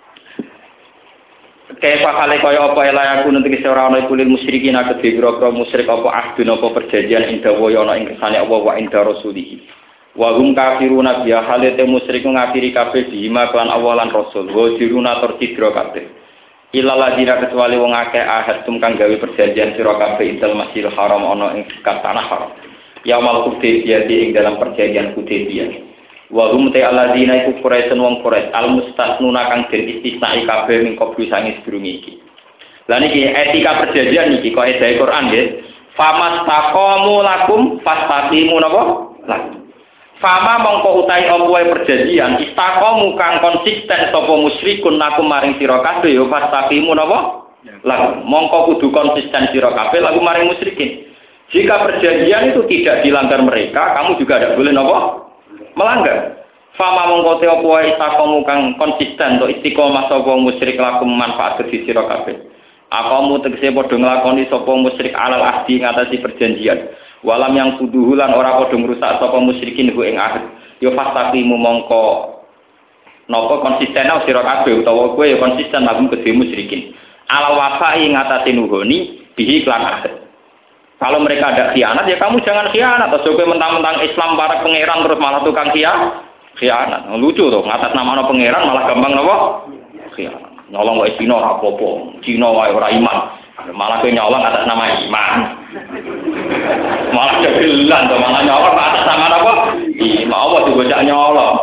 Kayak pakale kaya apa ya layaku nanti kese ora ana kulil musyrikin akeh biro-biro musyrik apa ahdun apa perjanjian inda wa ana ing kersane Allah wa inda rasulih. Wa hum kafiruna biya halate musyrik ngafiri kabeh bima lan Allah lan rasul. Wa diruna tercidra kabeh. Illa ladina kecuali wong akeh ahad tum kang gawe perjanjian sira kabeh intel Masjidil Haram ana ing tanah haram. Yaumal Hudaybiyah ing dalam perjanjian Hudaybiyah. Wa hum ta alladzina iku Quraisy wong Quraisy al-mustasnuna kang den istisnai kabeh min qablu sange sedurunge iki. Lah niki etika perjanjian niki kok edahe Quran nggih. Famastaqamu lakum fastaqimu napa? Lakum. Fama mongko utahe apa perjanjian istaqamu kang konsisten sapa musyrikun lakum maring sira kabeh ya fastaqimu napa? Lakum. Mongko kudu konsisten sira kabeh lakum maring musyrikin. Jika perjanjian itu tidak dilanggar mereka, kamu juga tidak boleh napa? Melanggar. Fama mongko te apa wae istaqamu kang konsisten to istiqomah sapa musyrik lakum manfaat kedhi sira kabeh. Akamu tegese padha nglakoni sapa musyrik alal ahdi ngatasi perjanjian. Walam yang kuduhu lan ora padha ngrusak sapa musyrikin ku ing ahd. Ya fastaqimu mongko napa konsisten sira kabeh utawa kowe ya konsisten lakum kedhi musyrikin. Alal wafai ngatasi nuhoni bihi lan ahd. Kalau mereka ada khianat, ya kamu jangan khianat. Atau kowe mentang-mentang Islam para pangeran terus malah tukang khianat. Lucu tuh, ngatas nama pangeran malah gampang napa? Khianat. Nyolong wae Cina ora apa-apa. Cina wae ora iman. Malah kowe nyolong atas nama iman. Malah kegelan tuh, malah nyolong atas nama apa? Iman apa digojak nyolong.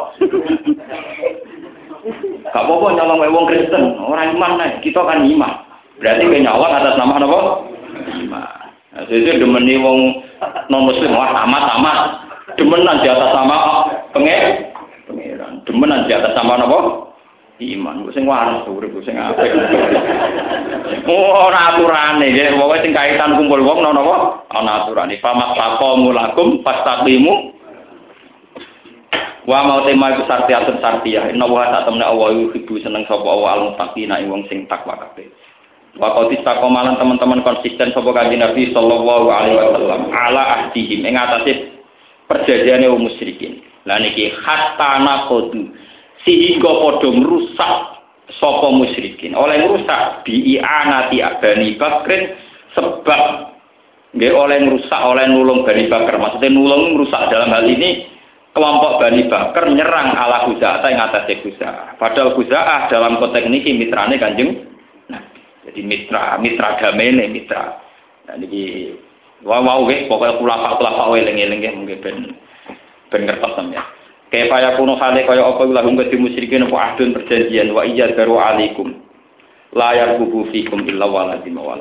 Gak apa-apa nyolong wae wong Kristen, orang iman nek kita kan iman. Berarti kowe nyolong atas nama apa? Iman. Jadi demeni wong non muslim wah tamat demenan di atas sama pangeran demenan di atas sama apa iman sing waras urip sing apik ora aturane nggih pokoke sing kaitan kumpul wong napa ana aturane famastaqamu lakum fastaqimu wa mau tema iku sartiyah inna wa ta'tamna Allah yuhibbu seneng sapa Allah al-muttaqina wong sing takwa kabeh. Waktu istakomalan teman-teman konsisten sapa Kanjeng Nabi sallallahu alaihi wasallam ala ahdihim ing atase perjanjiane wong musyrikin. Lah niki hatta naqdu sehingga padha ngrusak sapa musyrikin. Oleh ngrusak bi'anati Bani Bakrin sebab nggih oleh ngrusak oleh nulung Bani Bakar. Maksudnya nulung ngrusak dalam hal ini kelompok Bani Bakar nyerang ala Khuza'ah ing atase Khuza'ah. Padahal Khuza'ah dalam konteks niki mitrane Kanjeng. Jadi mitra damene mitra. Nah niki wow wis pokoke kulapa eling-eling nggih mungkin ben ngertos sampeyan. Kaya kuno hale kaya apa lahum kedhi musyrikin apa ahdun perjanjian wa iyya daru alaikum. La yarqubu fikum illa waladim wa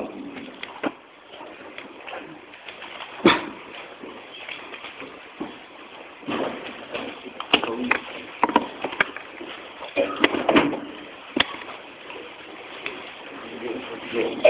waladim.